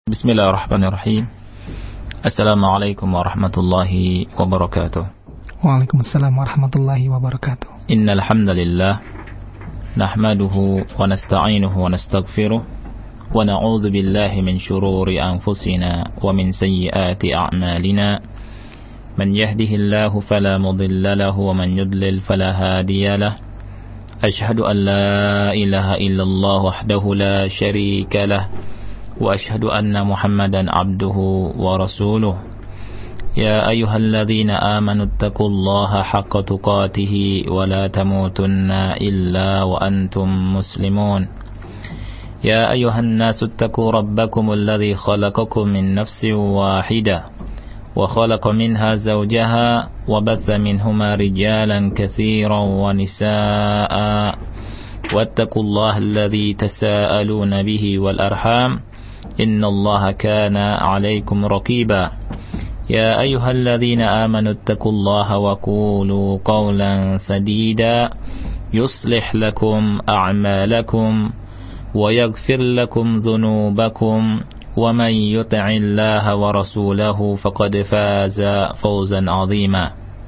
Bismillahirrahmanirrahim. Assalamualaikum warahmatullahi wabarakatuh. Waalaikumsalam warahmatullahi wabarakatuh. Innal hamdalillah nahmaduhu wa nasta'inuhu wa nastaghfiruh wa na'udzu billahi min shururi anfusina wa min sayyiati a'malina. Man yahdihillahu fala mudilla lahu wa man yudlil fala hadiya lahu. Ashhadu an la ilaha illallah wahdahu la syarika lahu. وأشهد أن محمدا عبده ورسوله يا أيها الذين آمنوا اتقوا الله حق تقاته ولا تموتن إلا وأنتم مسلمون يا أيها الناس اتقوا ربكم الذي خلقكم من نفس واحدة وخلق منها زوجها وبث منهما رجالا كثيرا ونساء واتقوا الله الذي تساءلون به والأرحام إن الله كان عليكم رقيبا يا أيها الذين آمنوا اتقوا الله وقولوا قولا سديدا يصلح لكم أعمالكم ويغفر لكم ذنوبكم ومن يطع الله ورسوله فقد فاز فوزا عظيما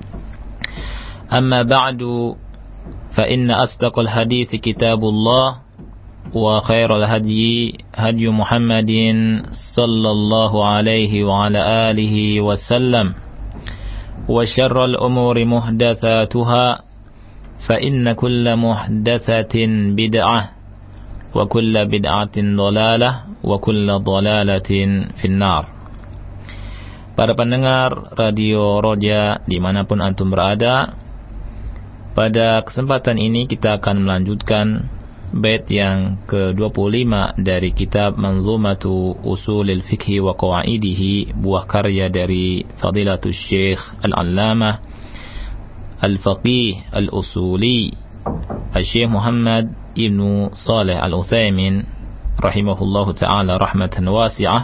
أما بعد فإن أصدق الحديث كتاب الله وخير الهدي هدي محمد صلى الله عليه وعلى آله وسلم وشر الأمور محدثاتها فإن كل محدثة بدعة وكل بدعة ضلالة وكل ضلالة في النار. Para pendengar Radio Roja dimanapun antum berada, pada kesempatan ini kita akan melanjutkan bait yang ke-25 dari kitab Manzumatu Usulil Fiqhi wa Qawaidihi, buah karya dari Fadilatul Syekh Al-Allamah Al-Faqih Al-Usuli Syekh Muhammad Ibn Saleh Al-Utsaimin rahimahullahu ta'ala rahmatan wasi'ah.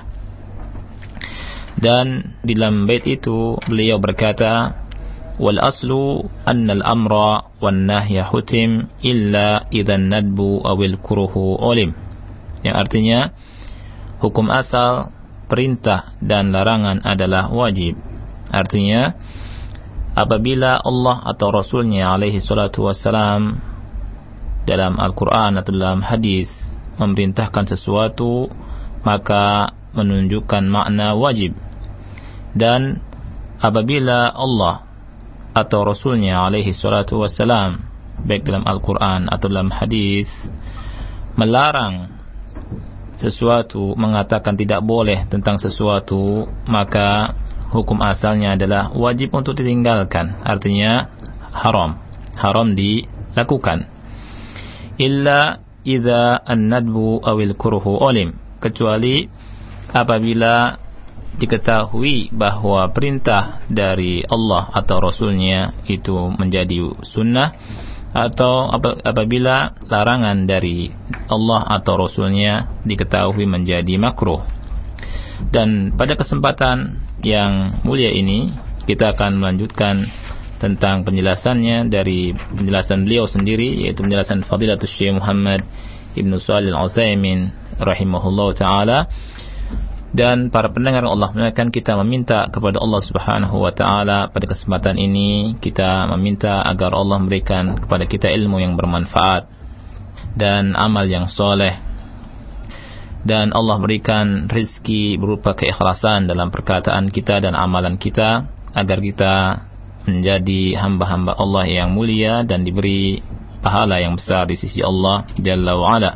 Dan di dalam bait itu beliau berkata, wal aslu anna al-amra wan nahya hutim illa idhan nadbu awil kuruhu olim, yang artinya hukum asal perintah dan larangan adalah wajib. Artinya apabila Allah atau Rasulnya alaihi salatu wassalam dalam Al-Quran atau dalam hadis memerintahkan sesuatu, maka menunjukkan makna wajib. Dan apabila Allah atau Rasulnya alaihi salatu wassalam baik dalam Al-Quran atau dalam hadis melarang sesuatu, mengatakan tidak boleh tentang sesuatu, maka hukum asalnya adalah wajib untuk ditinggalkan. Artinya haram dilakukan. Illa idza an-nadbu awil kurhu olim, kecuali apabila diketahui bahwa perintah dari Allah atau Rasulnya itu menjadi sunnah, atau apabila larangan dari Allah atau Rasulnya diketahui menjadi makruh. Dan pada kesempatan yang mulia ini kita akan melanjutkan tentang penjelasannya dari penjelasan beliau sendiri, yaitu penjelasan Fadilatul Syekh Muhammad Ibn Shalih Al-Utsaimin rahimahullahu ta'ala. Dan para pendengar Allah muliakan, kita meminta kepada Allah Subhanahu wa ta'ala pada kesempatan ini, kita meminta agar Allah memberikan kepada kita ilmu yang bermanfaat dan amal yang soleh, dan Allah berikan rizki berupa keikhlasan dalam perkataan kita dan amalan kita, agar kita menjadi hamba-hamba Allah yang mulia dan diberi pahala yang besar di sisi Allah Jalla wa'ala.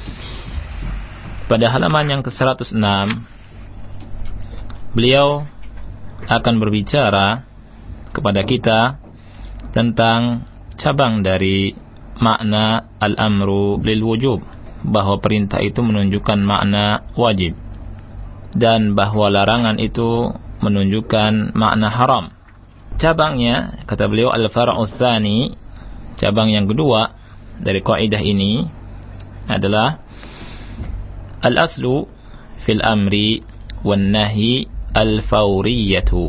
Pada halaman yang ke-106 beliau akan berbicara kepada kita tentang cabang dari makna al-amru lil wujub, bahwa perintah itu menunjukkan makna wajib dan bahwa larangan itu menunjukkan makna haram. Cabangnya, kata beliau, al-far'u tsani, cabang yang kedua dari kaidah ini adalah al-aslu fil amri wan nahyi al-fawriyatu,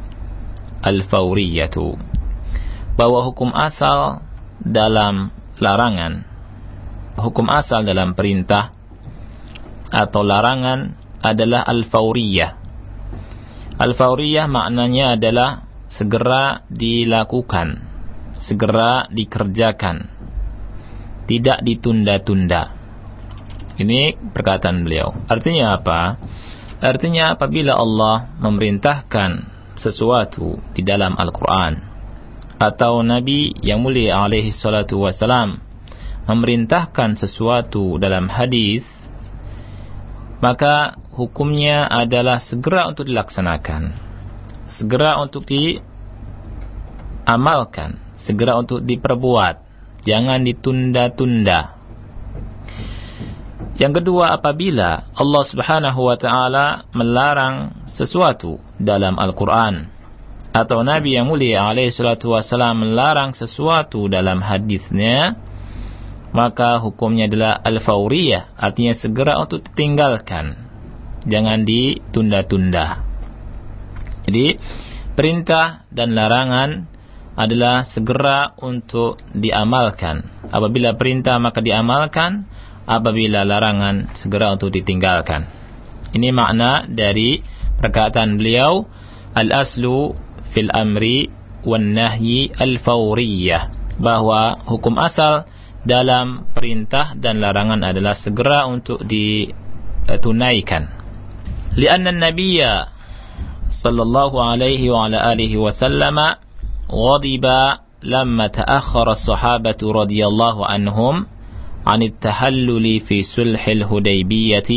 bahwa hukum asal dalam larangan, hukum asal dalam perintah atau larangan adalah al-fauriyah. Al-fauriyah maknanya adalah segera dilakukan, segera dikerjakan, tidak ditunda-tunda. Ini perkataan beliau. Artinya apa? Artinya apabila Allah memerintahkan sesuatu di dalam Al-Quran, atau Nabi yang mulia alaihi salatu wassalam memerintahkan sesuatu dalam hadis, maka hukumnya adalah segera untuk dilaksanakan, segera untuk diamalkan, segera untuk diperbuat, jangan ditunda-tunda. Yang kedua, apabila Allah Subhanahu wa ta'ala melarang sesuatu dalam Al-Quran, atau Nabi yang mulia alaihi salatu wassalam melarang sesuatu dalam hadisnya, maka hukumnya adalah al-fauriyah, artinya segera untuk ditinggalkan, jangan ditunda-tunda. Jadi perintah dan larangan adalah segera untuk diamalkan. Apabila perintah maka diamalkan, apabila larangan segera untuk ditinggalkan. Ini makna dari perkataan beliau, al-aslu fil amri wan nahyi al-fauriyah, bahwa hukum asal dalam perintah dan larangan adalah segera untuk ditunaikan. Lianna an-nabiyya sallallahu alaihi wa ala alihi wa sallama ghadiba lamma ta'akhkhara as-sahabatu radhiyallahu anhum عن التحلل في صلح الحديبية،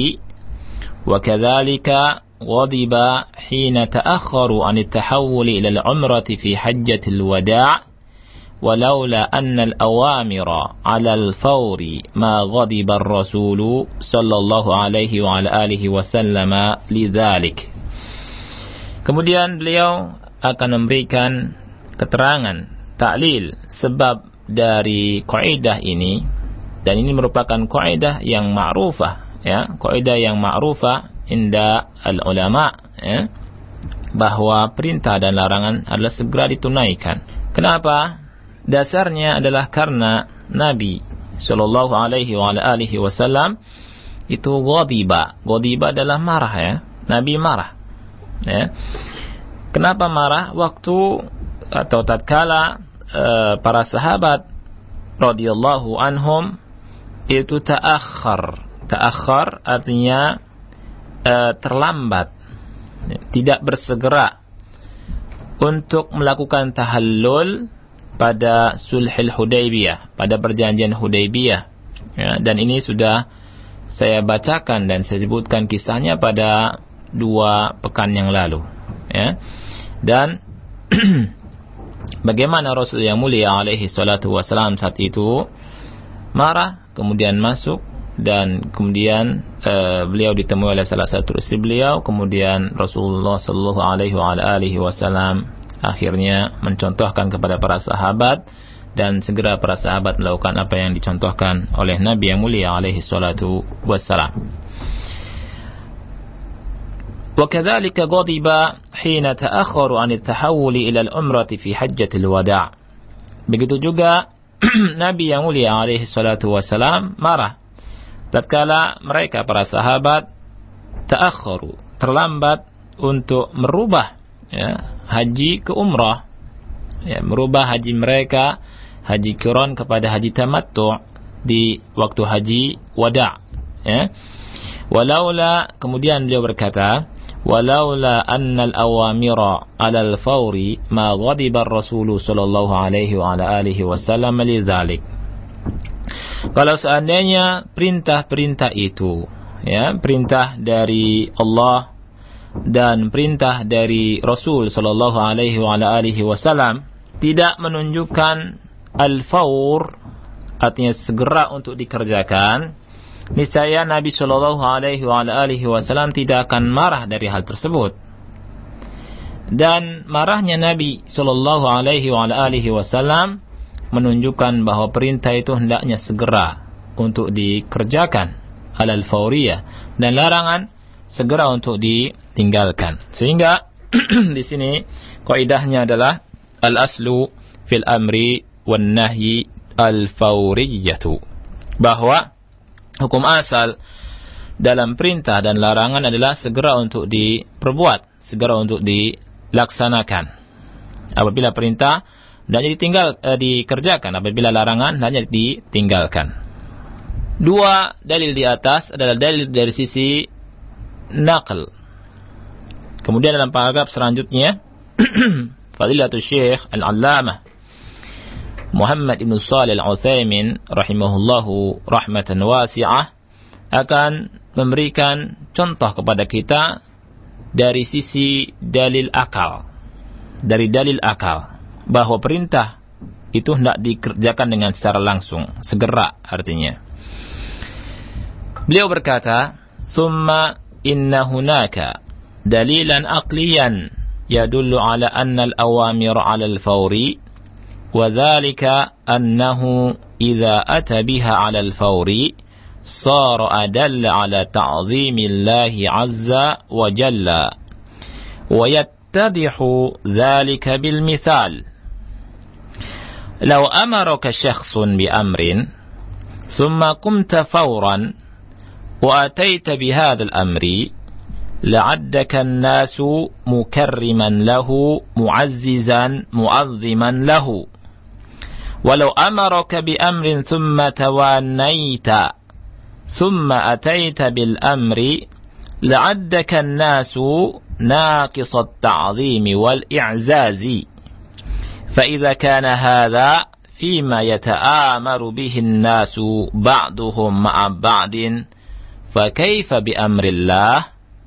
وكذلك غضب حين تأخروا عن التحول إلى العمرة في حجة الوداع، ولولا أن الأوامر على الفور ما غضب الرسول صلى الله عليه وعلى آله وسلم لذلك. Kemudian beliau akan memberikan keterangan, ta'lil, sebab dari kaidah ini. Dan ini merupakan kaidah yang ma'rufah, ya, kaidah yang ma'rufah inda al-ulama, ya, bahwa perintah dan larangan adalah segera ditunaikan. Kenapa? Dasarnya adalah karena Nabi sallallahu alaihi wa alihi wasallam itu ghadiba. Ghadiba adalah marah, ya. Nabi marah. Ya. Kenapa marah? Waktu atau tatkala para sahabat radhiyallahu anhum itu ta'akhkhar artinya terlambat, tidak bersegera untuk melakukan tahallul pada sulhul Hudaybiyah, pada perjanjian Hudaybiyah, ya, dan ini sudah saya bacakan dan saya sebutkan kisahnya pada 2 pekan yang lalu, ya. Dan bagaimana Rasul yang mulia alaihi salatu wassalam saat itu marah, kemudian masuk, dan kemudian beliau ditemui oleh salah satu istri beliau. Kemudian Rasulullah sallallahu alaihi wasallam akhirnya mencontohkan kepada para sahabat, dan segera para sahabat melakukan apa yang dicontohkan oleh Nabi yang mulia alaihi salatu wassalam. وكذلك غضب حين تأخروا عن التحول إلى العمرة في حجة الوداع. Begitu juga Nabi yang mulia alaihi salatu wassalam marah tatkala mereka para sahabat ta'akhkharu, terlambat untuk merubah, ya, haji ke umrah, ya, merubah haji mereka, haji qiran kepada haji tamattu' di waktu haji wada', ya. Walaula, kemudian beliau berkata, walaula annal awamira 'alal fawri ma ghadiba ar-rasul sallallahu alaihi wa ala alihi wasallam lidzalik. Kalau seandainya perintah-perintah itu, ya, perintah dari Allah dan perintah dari Rasul sallallahu alaihi wa ala alihi wasallam tidak menunjukkan al-fawr, artinya segera untuk dikerjakan, niscaya Nabi sallallahu alaihi wa alihi wasallam tidak akan marah dari hal tersebut. Dan marahnya Nabi sallallahu alaihi wa alihi wasallam menunjukkan bahwa perintah itu hendaknya segera untuk dikerjakan, alal fauriyah, dan larangan segera untuk ditinggalkan. Sehingga di sini kaidahnya adalah al-aslu fil amri wan nahyi al-fauriyatu, bahwa hukum asal dalam perintah dan larangan adalah segera untuk diperbuat, segera untuk dilaksanakan. Apabila perintah hendaknya dikerjakan, apabila larangan hendaknya ditinggalkan. Dua dalil di atas adalah dalil dari sisi naql. Kemudian dalam paragraf selanjutnya Fadilatul Syekh Al-Allamah Muhammad ibn Shalih Al-Utsaimin rahimahullahu rahmatan wasi'ah akan memberikan contoh kepada kita dari sisi dalil akal. Dari dalil akal bahwa perintah itu hendak dikerjakan dengan secara langsung, segera artinya. Beliau berkata, "Tsumma inna hunaka dalilan aqliyan yadullu ala anna al-awamir 'ala al-fawri wa dhalika annahu idza ata biha 'ala al-fawri sara adalla 'ala ta'dhimillahi 'azza wa jalla wa yattadihu dhalika bil mithal law amaraka shakhsun bi amrin thumma qumta fawran wa ataita bi hadha al-amri لعدك الناس مكرما له معززا معظما له ولو أمرك بأمر ثم توانيت ثم أتيت بالأمر لعدك الناس ناقص التعظيم والإعزاز فإذا كان هذا فيما يتآمر به الناس بعضهم مع بعض فكيف بأمر الله.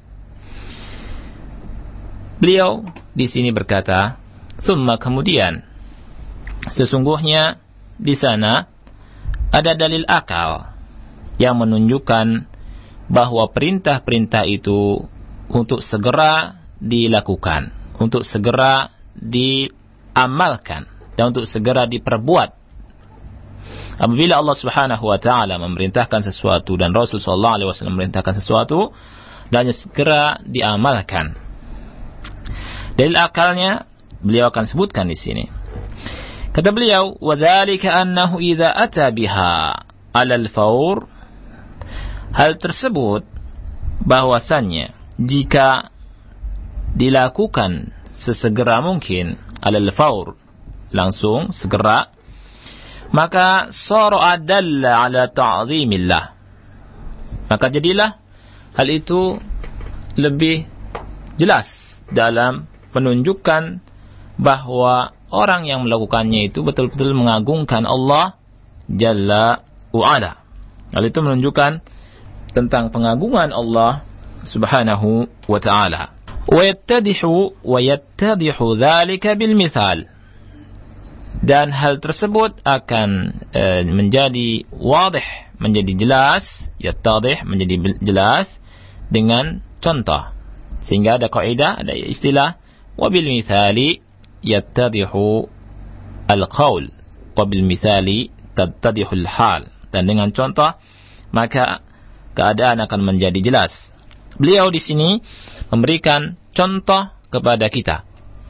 Beliau di sini berkata, summa kemudian, sesungguhnya di sana ada dalil akal yang menunjukkan bahwa perintah-perintah itu untuk segera dilakukan, untuk segera diamalkan, dan untuk segera diperbuat. Apabila Allah Subhanahu wa taala memerintahkan sesuatu dan Rasul sallallahu alaihi wasallam memerintahkan sesuatu, dan segera diamalkan. Dalil akalnya beliau akan sebutkan di sini. Kata beliau, wa dzalika annahu idza ata biha 'ala al-fawr, hal tersebut bahwasannya jika dilakukan sesegera mungkin 'ala al-fawr, langsung segera, maka sara adalla 'ala ta'zimillah, maka jadilah hal itu lebih jelas dalam menunjukkan bahwa orang yang melakukannya itu betul-betul mengagungkan Allah Jalla wa'ala. Hal itu menunjukkan tentang pengagungan Allah Subhanahu wa ta'ala. Wa yattadihu dhalika bil mithal. Dan hal tersebut akan menjadi wadih, menjadi jelas, yattadih, menjadi jelas dengan contoh. Sehingga ada kaidah, ada istilah wabil mithali yattadihu al-qaul wabil mithali tattadihu al-hal, dan dengan contoh maka keadaan akan menjadi jelas. Beliau di sini memberikan contoh kepada kita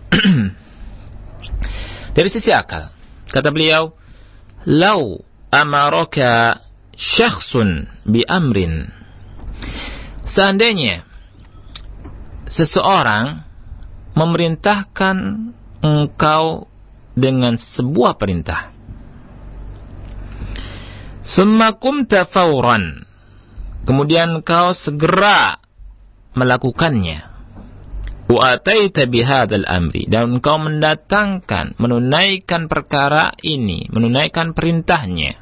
dari sisi akal. Kata beliau, "Lau amaraka syakhsun bi amrin." Seandainya seseorang memerintahkan engkau dengan sebuah perintah, summa qumta fawran, kemudian engkau segera melakukannya, wa ataita bihadzal amri, dan engkau mendatangkan, menunaikan perkara ini, menunaikan perintahnya,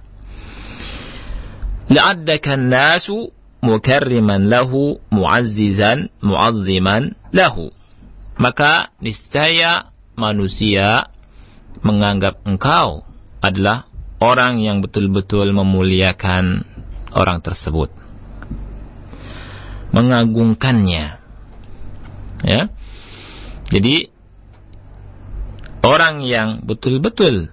la'addaka an-nasu mukarriman lahu mu'azzizan mu'azziman lahu, maka niscaya manusia menganggap engkau adalah orang yang betul-betul memuliakan orang tersebut, mengagungkannya. Ya. Jadi orang yang betul-betul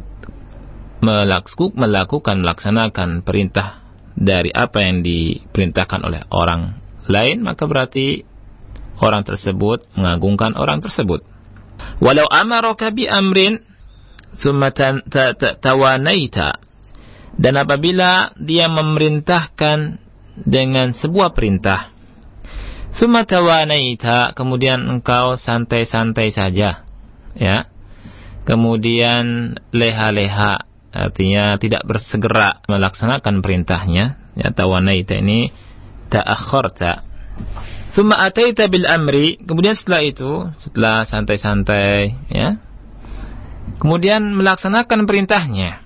melaksanakan perintah dari apa yang diperintahkan oleh orang lain, maka berarti orang tersebut mengagungkan orang tersebut. Walau amaraka bi amrin tsumma tawanaita, dan apabila dia memerintahkan dengan sebuah perintah, summa tawanaita, kemudian engkau santai-santai saja, ya, kemudian leha-leha, artinya tidak bersegera melaksanakan perintahnya, ya, tawanaita ini ta'akhkharta. Summa ataita bil amri, kemudian setelah santai-santai, ya, kemudian melaksanakan perintahnya,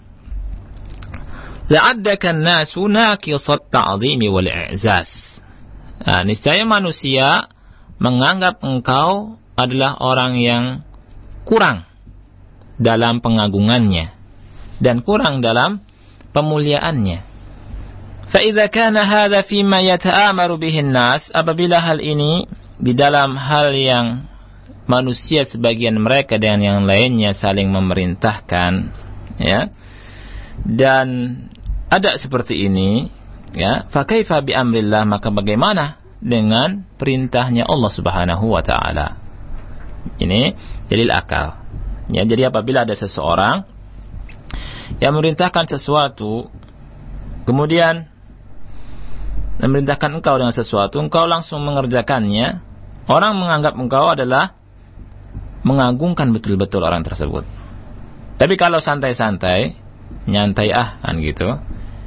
la'addaka an-nasu naqisat ta'zimi wal i'zaz. Nah, niscaya manusia menganggap engkau adalah orang yang kurang dalam pengagungannya dan kurang dalam pemuliaannya. Fa idza kana hadza fi ma yata'amaru bihi an-nas, apabila hal ini di dalam hal yang manusia sebagian mereka dengan yang lainnya saling memerintahkan, ya, dan ada seperti ini, ya, fa kaifa bi amrillah, maka bagaimana dengan perintahnya Allah Subhanahu wa taala. Ini dalil akal, ya. Jadi apabila ada seseorang yang memerintahkan sesuatu, kemudian memerintahkan engkau dengan sesuatu, engkau langsung mengerjakannya, orang menganggap engkau adalah mengagungkan betul-betul orang tersebut. Tapi kalau santai-santai, nyantai kan gitu,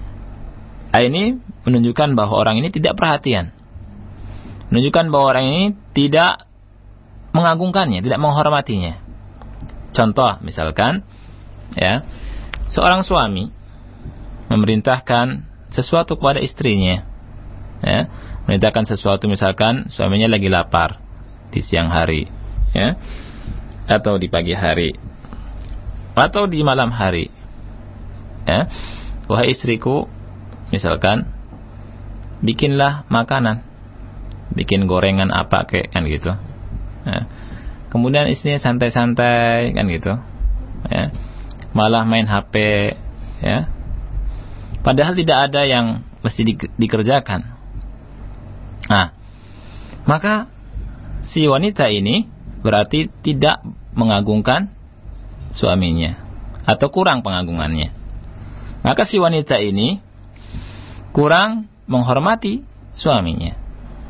ini menunjukkan bahwa orang ini tidak perhatian, menunjukkan bahwa orang ini tidak mengagungkannya, tidak menghormatinya. Contoh misalkan, ya, seorang suami memerintahkan sesuatu kepada istrinya, ya, memerintahkan sesuatu, misalkan suaminya lagi lapar di siang hari, ya, atau di pagi hari, atau di malam hari, ya, wahai istriku, misalkan bikinlah makanan, bikin gorengan apa kayak kan gitu, ya. Kemudian istrinya santai-santai kan gitu, ya, malah main HP, ya, padahal tidak ada yang mesti dikerjakan. Nah, maka si wanita ini berarti tidak mengagungkan suaminya atau kurang pengagungannya. Maka si wanita ini kurang menghormati suaminya.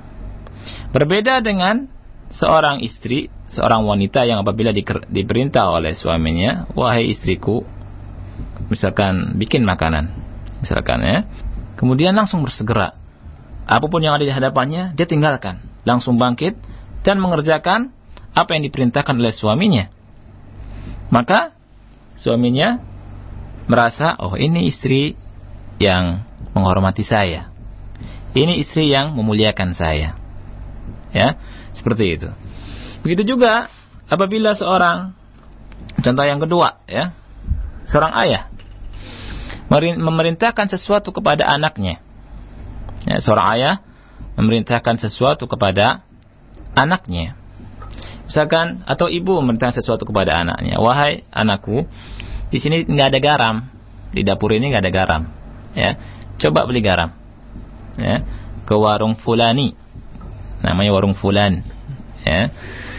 Berbeda dengan seorang istri, seorang wanita yang apabila diperintah oleh suaminya, wahai istriku, misalkan bikin makanan, misalkan, ya, kemudian langsung bersegera. Apapun yang ada di hadapannya, dia tinggalkan, langsung bangkit dan mengerjakan apa yang diperintahkan oleh suaminya. Maka suaminya merasa, oh, ini istri yang menghormati saya, ini istri yang memuliakan saya, ya, seperti itu. Begitu juga apabila seorang, contoh yang kedua, ya, seorang ayah memerintahkan sesuatu kepada anaknya, ya, seorang ayah memerintahkan sesuatu kepada anaknya, misalkan, atau ibu memerintahkan sesuatu kepada anaknya, wahai anakku, di sini nggak ada garam, di dapur ini nggak ada garam, ya, coba beli garam, ya, ke warung fulani, namanya warung fulan, ya.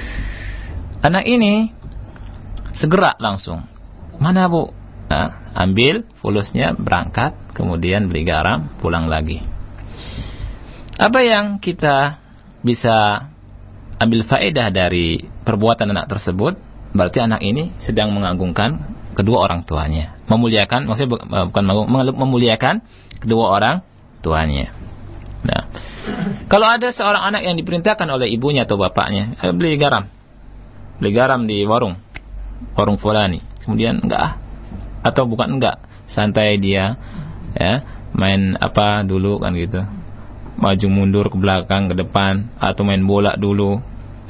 Anak ini segera langsung, mana bu? Nah, ambil fulusnya, berangkat, kemudian beli garam, pulang lagi. Apa yang kita bisa ambil faedah dari perbuatan anak tersebut? Berarti anak ini sedang mengagungkan kedua orang tuanya, memuliakan, maksudnya bukan memuliakan kedua orang tuanya. Nah, kalau ada seorang anak yang diperintahkan oleh ibunya atau bapaknya, beli garam di warung fulani, kemudian enggak, atau bukan enggak, santai dia, ya, main apa dulu kan gitu, maju mundur ke belakang ke depan, atau main bola dulu,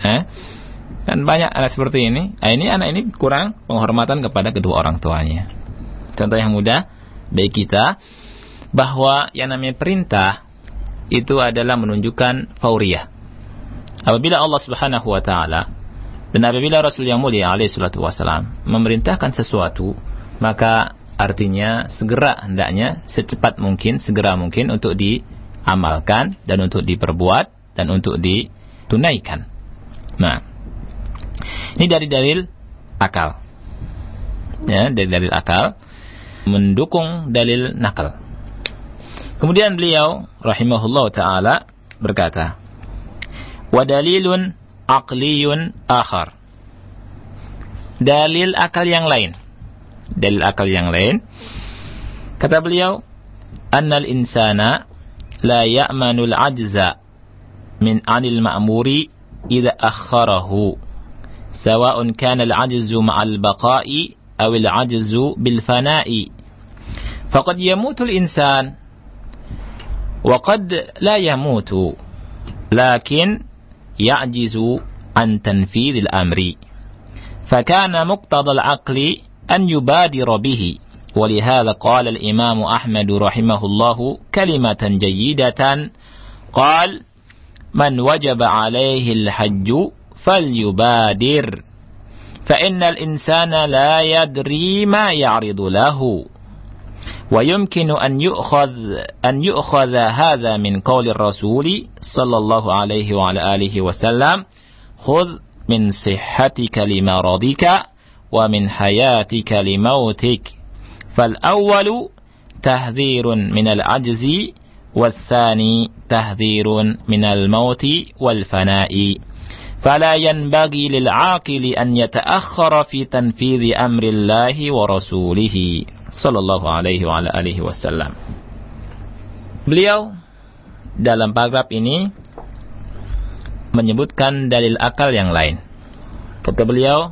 kan banyak anak seperti ini. Ini anak ini kurang penghormatan kepada kedua orang tuanya. Contoh yang mudah bagi kita bahwa yang namanya perintah itu adalah menunjukkan fauriyah. Apabila Allah Subhanahu wa taala dan apabila Rasul yang mulia alaihi salatu wasalam memerintahkan sesuatu, maka artinya hendaknya secepat mungkin, segera mungkin untuk diamalkan dan untuk diperbuat dan untuk ditunaikan. Nah, ini dari dalil akal, ya, dari dalil akal mendukung dalil nakal. Kemudian beliau rahimahullah ta'ala berkata, wa dalilun aqliyun akhar. Dalil akal yang lain. Dalil akal yang lain. Kata beliau, annal insana la ya'manul ajza min anil ma'muri idza akharahu. Sawa'un kana al-ajzu ma'al baqa'i aw al-ajzu bil fana'i. Faqad yamutu al-insan wa qad la yamutu. Lakin ya'jizu an tanfidh al-amri. فكان مقتضى العقل أن يبادر به ولهذا قال الإمام أحمد رحمه الله كلمة جيدة قال من وجب عليه الحج فليبادر فإن الإنسان لا يدري ما يعرض له ويمكن أن يؤخذ هذا من قول الرسول صلى الله عليه وعلى آله وسلم خذ من صحتك لمرضك ومن حياتك لموتك فالأول تحذير من العجز والثاني تحذير من الموت والفناء فلا ينبغي للعاقل أن يتأخر في تنفيذ أمر الله ورسوله صلى الله عليه وعلى آله وسلم. Beliau dalam paragraf ini menyebutkan dalil akal yang lain. Kata beliau,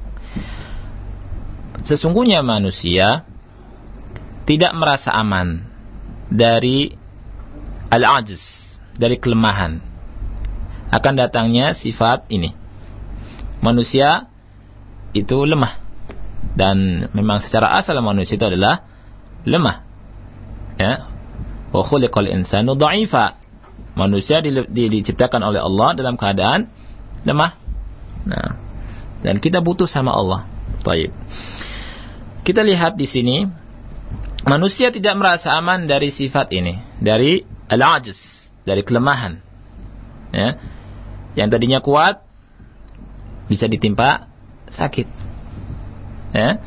sesungguhnya manusia tidak merasa aman dari al-ajz, dari kelemahan. Akan datangnya sifat ini. Manusia itu lemah. Dan memang secara asal manusia itu adalah lemah. Ya. Wa khuliqal insanu dha'ifa. Manusia diciptakan oleh Allah dalam keadaan lemah. Nah, dan kita butuh sama Allah. Baik. Kita lihat di sini, manusia tidak merasa aman dari sifat ini, dari al-ajz, dari kelemahan. Ya. Yang tadinya kuat bisa ditimpa sakit. Ya.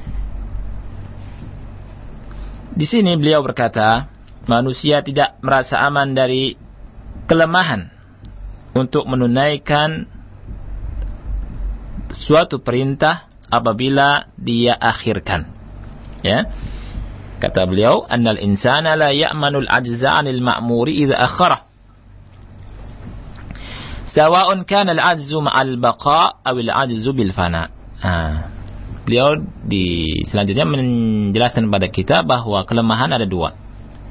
Di sini beliau berkata, manusia tidak merasa aman dari kelemahan untuk menunaikan suatu perintah apabila dia akhirkan. Ya. Kata beliau, annal insana la ya'manul ajza 'anil ma'muri idza akhara. Sawa'un kana al-'ajzu ma'al baqa' aw al-'ajzu bil fana. Beliau selanjutnya menjelaskan kepada kita bahwa kelemahan ada dua.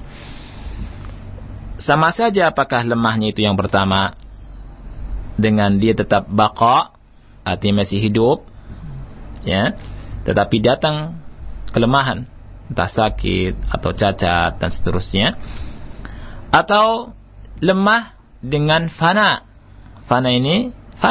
Sama saja apakah lemahnya itu yang pertama dengan dia tetap baqa, artinya masih hidup, ya, tetapi datang kelemahan, entah sakit atau cacat dan seterusnya, atau lemah dengan fana. Fana ini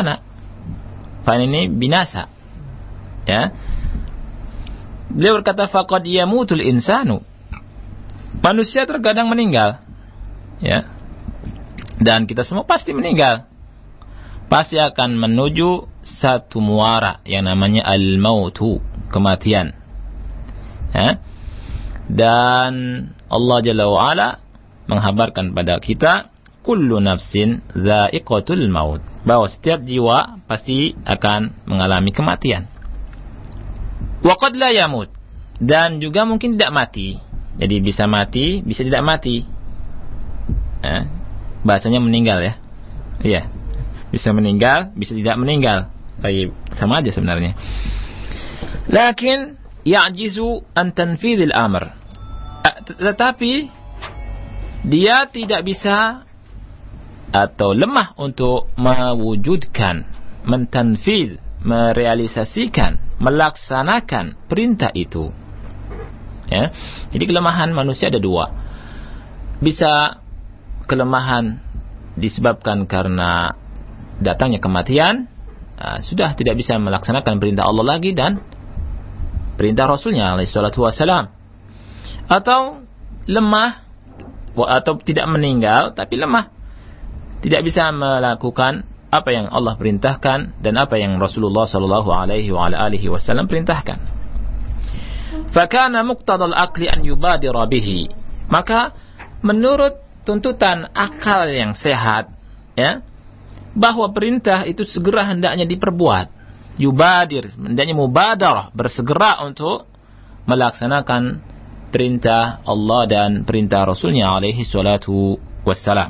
binasa. Ya. Beliau berkata faqad yamutul insanu. Manusia terkadang meninggal. Ya. Dan kita semua pasti meninggal. Pasti akan menuju satu muara yang namanya al-mautu, kematian. Ya. Dan Allah Jalla wa Ala menghabarkan pada kita, kullu nafsin dha'iqatul maut, bahwa setiap jiwa pasti akan mengalami kematian. Wa qad la yamut, dan juga mungkin tidak mati. Jadi bisa mati, bisa tidak mati. Bahasanya meninggal, ya. Iya. Bisa meninggal, bisa tidak meninggal. Baik, sama aja sebenarnya. Lakin ya'jizu an tanfidhil amr. Tetapi dia tidak bisa atau lemah untuk mewujudkan, mentanfidh, merealisasikan, melaksanakan perintah itu. Ya. Jadi kelemahan manusia ada dua. Bisa kelemahan disebabkan karena datangnya kematian, sudah tidak bisa melaksanakan perintah Allah lagi dan perintah Rasulnya alaihi salatu wassalam. Atau lemah, atau tidak meninggal tapi lemah, tidak bisa melakukan apa yang Allah perintahkan dan apa yang Rasulullah sallallahu alaihi wa alihi wasallam perintahkan. Fakana muqtadal aqli an yubadira bihi. Maka menurut tuntutan akal yang sehat, ya, bahwa perintah itu segera hendaknya diperbuat. Yubadir, hendaknya mubadarah, bersegera untuk melaksanakan perintah Allah dan perintah Rasulnya alaihi salatu wassalam.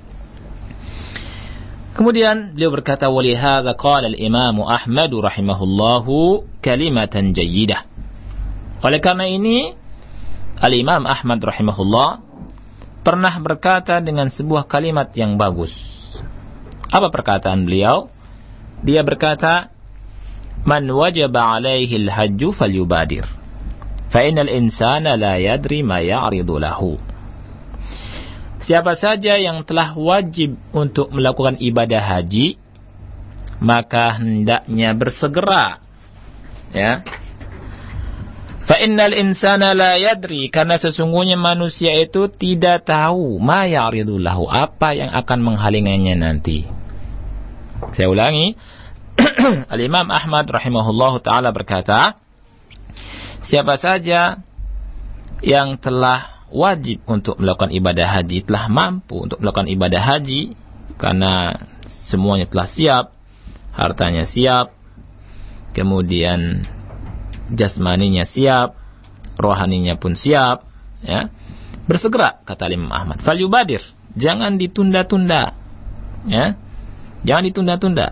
Kemudian beliau berkata, walihadza qala al-Imam Ahmad rahimahullahu kalimatan jayyidah. Oleh karena ini, Al-Imam Ahmad rahimahullah pernah berkata dengan sebuah kalimat yang bagus. Apa perkataan beliau? Dia berkata, man wajaba alaihi al-hajju falyubadir, fa innal insana la yadri ma ya'ridu lahu. Siapa saja yang telah wajib untuk melakukan ibadah haji, maka hendaknya bersegera. Ya. Fa innal insana la yadri, karena sesungguhnya manusia itu tidak tahu ma ya'ridu lahu, apa yang akan menghalanginya nanti. Saya ulangi. Al-Imam Ahmad rahimahullahu taala berkata, siapa saja yang telah wajib untuk melakukan ibadah haji, telah mampu untuk melakukan ibadah haji karena semuanya telah siap, hartanya siap, kemudian jasmaninya siap, rohaninya pun siap, ya. Bersegera, kata Imam Ahmad. Falyubadir, jangan ditunda-tunda. Ya. Jangan ditunda-tunda.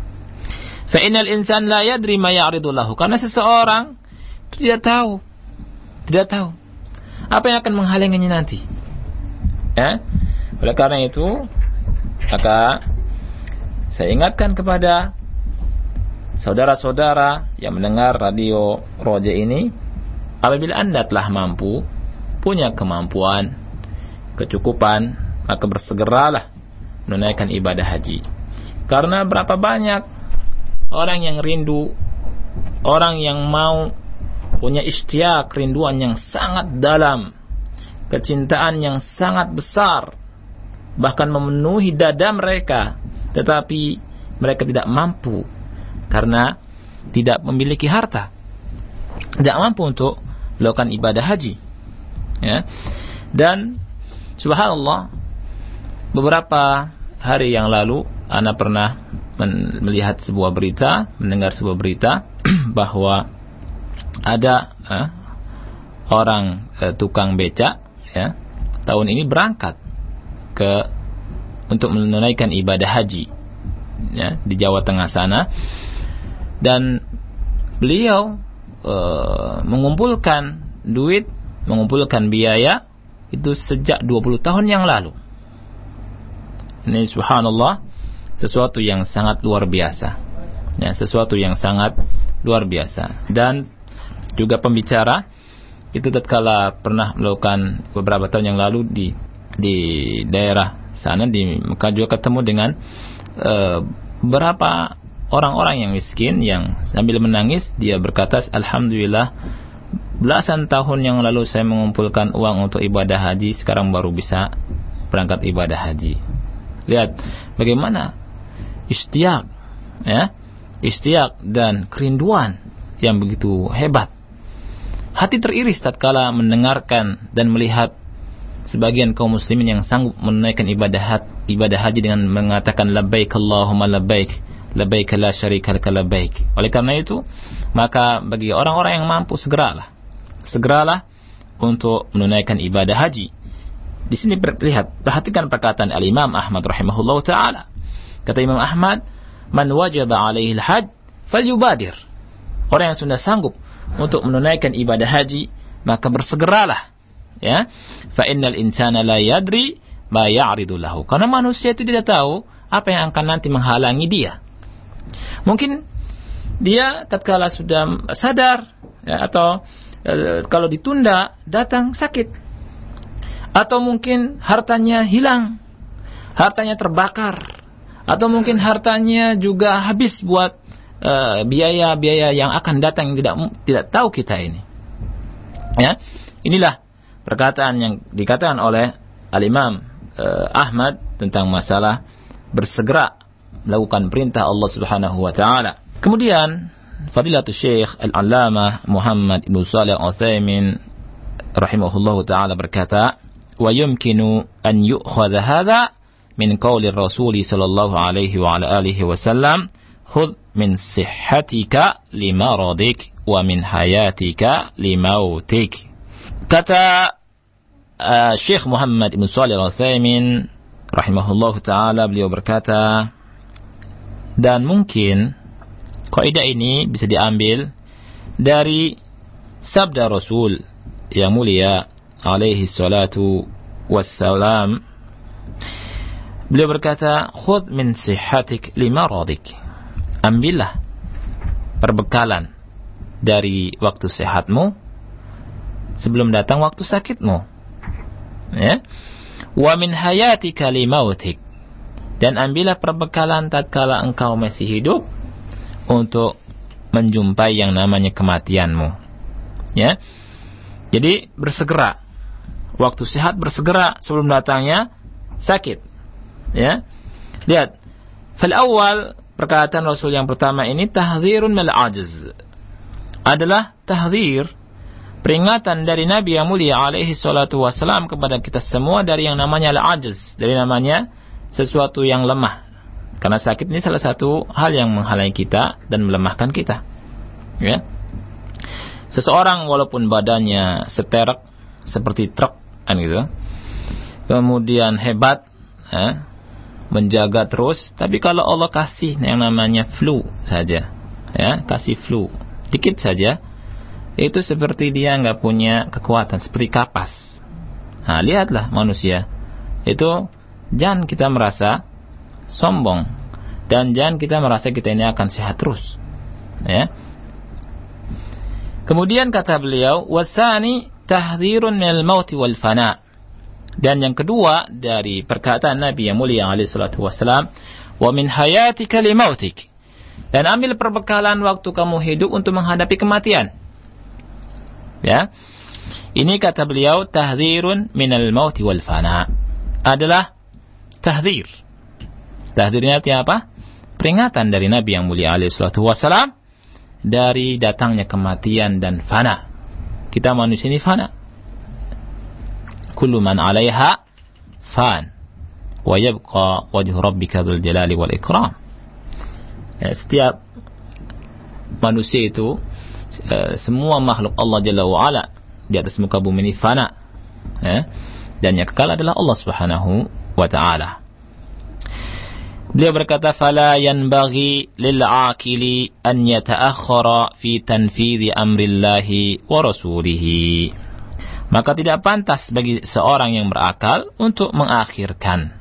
Fa innal insan la yadri ma ya'ridu lahu, karena seseorang itu tidak tahu apa yang akan menghalanginya nanti. Ya. Oleh karena itu, maka saya ingatkan kepada saudara-saudara yang mendengar radio Roja ini, apabila Anda telah mampu, punya kemampuan, kecukupan, maka bersegeralah menunaikan ibadah haji. Karena berapa banyak orang yang rindu, orang yang mau, punya istiak, kerinduan yang sangat dalam, kecintaan yang sangat besar, bahkan memenuhi dada mereka, tetapi mereka tidak mampu karena tidak memiliki harta, tidak mampu untuk melakukan ibadah haji. Ya. Dan subhanallah, beberapa hari yang lalu ana pernah melihat sebuah berita, mendengar sebuah berita bahwa ada orang tukang becak, ya, tahun ini berangkat untuk menunaikan ibadah haji, ya, di Jawa Tengah sana, dan beliau mengumpulkan duit, mengumpulkan biaya itu sejak 20 tahun yang lalu. Ini subhanallah sesuatu yang sangat luar biasa, ya, sesuatu yang sangat luar biasa. Dan juga pembicara itu tatkala pernah melakukan beberapa tahun yang lalu di daerah sana di Mekah, juga ketemu dengan beberapa orang-orang yang miskin yang sambil menangis dia berkata, alhamdulillah, belasan tahun yang lalu saya mengumpulkan uang untuk ibadah haji, sekarang baru bisa berangkat ibadah haji. Lihat bagaimana istiak, ya, istiak dan kerinduan yang begitu hebat. Hati teriris tatkala mendengarkan dan melihat sebagian kaum muslimin yang sanggup menunaikan ibadah haji dengan mengatakan labbaik Allahumma labbaik, labbaik la syarika laka labbaik. Oleh karena itu, maka bagi orang-orang yang mampu, segeralah untuk menunaikan ibadah haji. Di sini perhatikan perkataan Al-Imam Ahmad rahimahullahu taala. Kata Imam Ahmad, man wajaba alaihi al-hajj falyubadir. Orang yang sudah sanggup untuk menunaikan ibadah haji, maka bersegeralah, ya. Fa innal insana la yadri ma ya'ridu lahu. Karena manusia itu tidak tahu apa yang akan nanti menghalangi dia. Mungkin dia tatkala sudah sadar, ya, atau kalau ditunda datang sakit, atau mungkin hartanya hilang, hartanya terbakar, atau mungkin hartanya juga habis buat biaya-biaya yang akan datang yang tidak tahu kita ini. Ya, inilah perkataan yang dikatakan oleh Al-Imam Ahmad tentang masalah bersegera melakukan perintah Allah Subhanahu wa taala. Kemudian Fadilatul Syekh Al-Allamah Muhammad Ibn Shalih Al-Utsaimin rahimahullahu taala berkata, wa yumkinu an yu'khadha hadha min qawli Rasul sallallahu alaihi wa ala alihi wasallam, khudh min sihhatika limaradik wa min hayatika limautik. Kata Syekh Muhammad Ibn Shalih Al-Utsaimin rahimahullah ta'ala, beliau berkata, dan mungkin kaidah ini bisa diambil dari sabda Rasul yang mulia alaihi salatu wassalam. Beliau berkata, khudh min sihhatik limaradik, ambillah perbekalan dari waktu sehatmu sebelum datang waktu sakitmu, ya. Wa min hayatika limautik, dan ambillah perbekalan tatkala engkau masih hidup untuk menjumpai yang namanya kematianmu, ya. Jadi bersegera waktu sehat, bersegera sebelum datangnya sakit, ya. Lihat, fal awal, perkataan Rasul yang pertama ini tahdzirun minal ajz, adalah tahdzir, peringatan dari Nabi yang mulia alaihi salatu wassalam kepada kita semua dari yang namanya al-ajz, dari namanya sesuatu yang lemah. Karena sakit ini salah satu hal yang menghalangi kita dan melemahkan kita, ya. Seseorang walaupun badannya seterek seperti truk, kan gitu, kemudian hebat, ya, menjaga terus, tapi kalau Allah kasih yang namanya flu saja, ya, kasih flu dikit saja, itu seperti dia nggak punya kekuatan, seperti kapas. Nah, lihatlah manusia itu, jangan kita merasa sombong dan jangan kita merasa kita ini akan sehat terus, ya. Kemudian kata beliau, wasani tahdzirun minal mauti wal fana, dan yang kedua dari perkataan Nabi yang mulia alaihi salatu wassalam, wa min hayatika limautik, dan ambil perbekalan waktu kamu hidup untuk menghadapi kematian. Ya, ini kata beliau tahdzirun minal mauti wal fana, adalah tahdzir. Tahdzirnya artinya apa? Peringatan dari Nabi yang mulia alaihi salatu wassalam dari datangnya kematian dan fana. Kita manusia ini fana. Kullu man 'alaiha fan wa yabqa wajhu rabbika dzul jalali wal ikram. Ya, setiap manusia itu, semua makhluk Allah Jalla wa Ala di atas muka bumi ini fana, ya, dan yang kekal adalah Allah Subhanahu wa ta'ala. Beliau berkata, fala yanbaghi lil 'aqili an yata'akhkhara fi tanfidhi amrillahi wa rasulihi. Maka tidak pantas bagi seorang yang berakal untuk mengakhirkan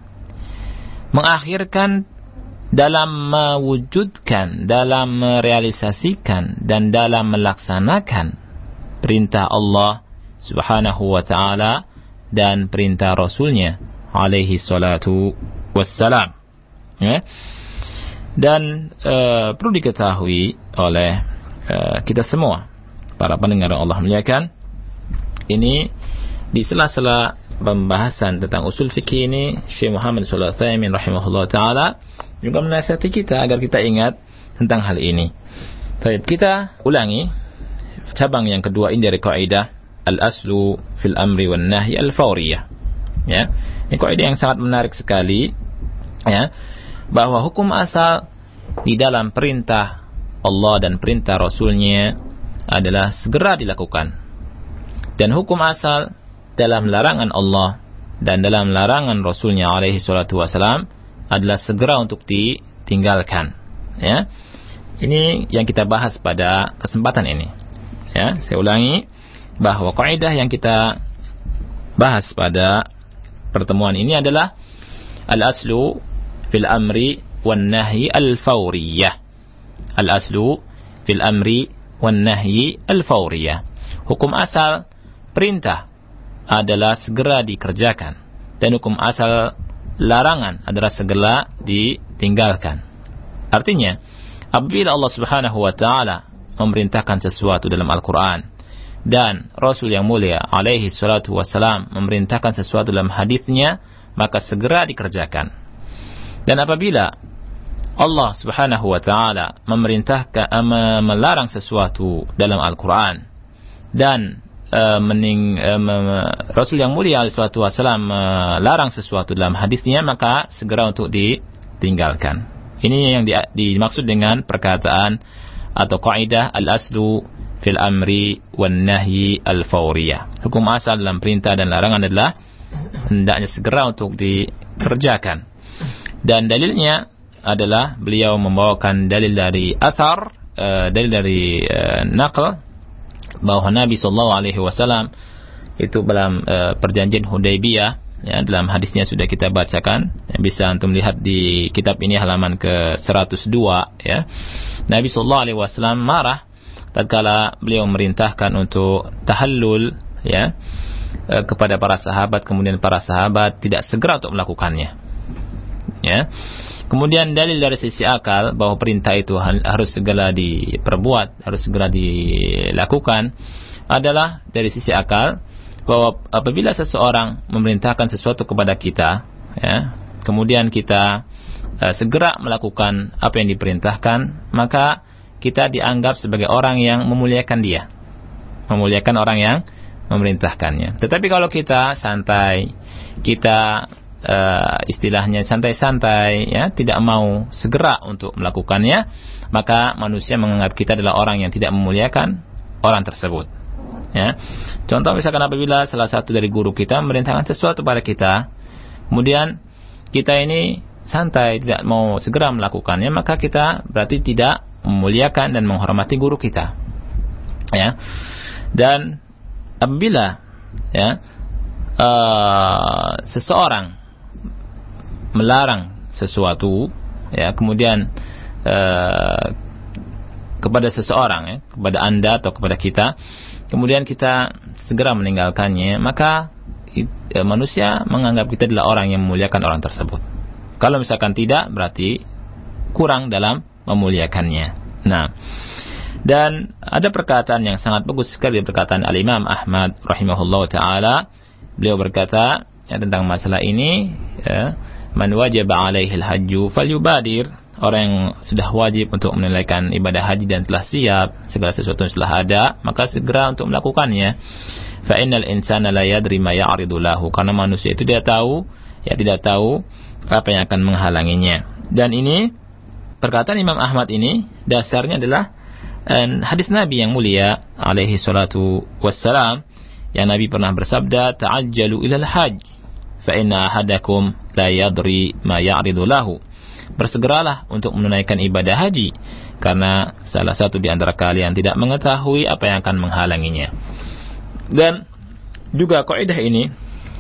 dalam mewujudkan, dalam merealisasikan, dan dalam melaksanakan perintah Allah Subhanahu wa ta'ala dan perintah Rasulnya alaihi salatu wassalam, ya. Dan perlu diketahui oleh kita semua, para pendengar Allah muliakan, ini di sela-sela pembahasan tentang usul fikih ini, Syekh Muhammad Shalih Al-Utsaimin rahimahullah ta'ala juga menasihati kita agar kita ingat tentang hal ini. Baik, kita ulangi cabang yang kedua ini dari kaidah al-aslu fil amri wan nahyi al-fawriyah, ya. Ini kaidah yang sangat menarik sekali, ya, bahwa hukum asal di dalam perintah Allah dan perintah Rasulnya adalah segera dilakukan, dan hukum asal dalam larangan Allah dan dalam larangan Rasulnya alaihi salatu wassalam adalah segera untuk ditinggalkan, ya. Ini yang kita bahas pada kesempatan ini, ya. Saya ulangi bahwa kaidah yang kita bahas pada pertemuan ini adalah al-aslu fil amri wan nahyi al-fawriyah. Al-aslu fil amri wan nahyi al-fawriyah. Hukum asal perintah adalah segera dikerjakan, dan hukum asal larangan adalah segera ditinggalkan. Artinya, apabila Allah Subhanahu wa ta'ala memerintahkan sesuatu dalam Al-Quran dan Rasul yang mulia alaihi salatu wassalam memerintahkan sesuatu dalam hadisnya, maka segera dikerjakan. Dan apabila Allah Subhanahu wa ta'ala memerintahkan, melarang sesuatu dalam Al-Quran dan Rasul yang mulia alaihi salatu wasallam melarang sesuatu dalam hadisnya, maka segera untuk ditinggalkan. Ini yang dimaksud dengan perkataan atau kaidah al-aslu fil amri wan nahyi al-fawriyah. Hukum asal dalam perintah dan larangan adalah hendaknya segera untuk dikerjakan. Dan dalilnya adalah beliau membawakan dalil dari athar, dalil dari naql, bahwa Nabi SAW itu dalam perjanjian Hudaybiyah, ya, dalam hadisnya sudah kita bacakan, ya, bisa antum lihat di kitab ini halaman ke 102, ya. Nabi SAW marah tatkala beliau merintahkan untuk tahallul, ya, kepada para sahabat, kemudian para sahabat tidak segera untuk melakukannya, ya. Kemudian dalil dari sisi akal bahwa perintah itu harus segera diperbuat, harus segera dilakukan, adalah dari sisi akal bahwa apabila seseorang memerintahkan sesuatu kepada kita, ya, kemudian kita segera melakukan apa yang diperintahkan, maka kita dianggap sebagai orang yang memuliakan dia, memuliakan orang yang memerintahkannya. Tetapi kalau kita santai, kita istilahnya santai-santai, ya, tidak mau segera untuk melakukannya, maka manusia menganggap kita adalah orang yang tidak memuliakan orang tersebut, ya. Contoh misalkan apabila salah satu dari guru kita memerintahkan sesuatu pada kita, kemudian kita ini santai, tidak mau segera melakukannya, maka kita berarti tidak memuliakan dan menghormati guru kita, ya. Dan apabila, ya, seseorang melarang sesuatu, ya, kemudian kepada seseorang, ya, kepada Anda atau kepada kita, kemudian kita segera meninggalkannya, maka manusia menganggap kita adalah orang yang memuliakan orang tersebut. Kalau misalkan tidak, berarti kurang dalam memuliakannya. Nah, dan ada perkataan yang sangat bagus sekali, perkataan Al-Imam Ahmad rahimahullah ta'ala. Beliau berkata, ya, tentang masalah ini, ya, man wajaba alaihil hajju falyubadir. Orang yang sudah wajib untuk menunaikan ibadah haji dan telah siap, segala sesuatu yang telah ada, maka segera untuk melakukannya. Fa innal insana la yadri ma ya'ridu lahu. Karena manusia itu tidak tahu apa yang akan menghalanginya. Dan ini perkataan Imam Ahmad ini dasarnya adalah hadis Nabi yang mulia alaihi salatu wassalam, yang Nabi pernah bersabda, ta'ajjalu ilal hajj fa inna ahadakum la yadri ma ya'ridu lahu. Bersegeralah untuk menunaikan ibadah haji, karena salah satu di antara kalian tidak mengetahui apa yang akan menghalanginya. Dan juga kaidah ini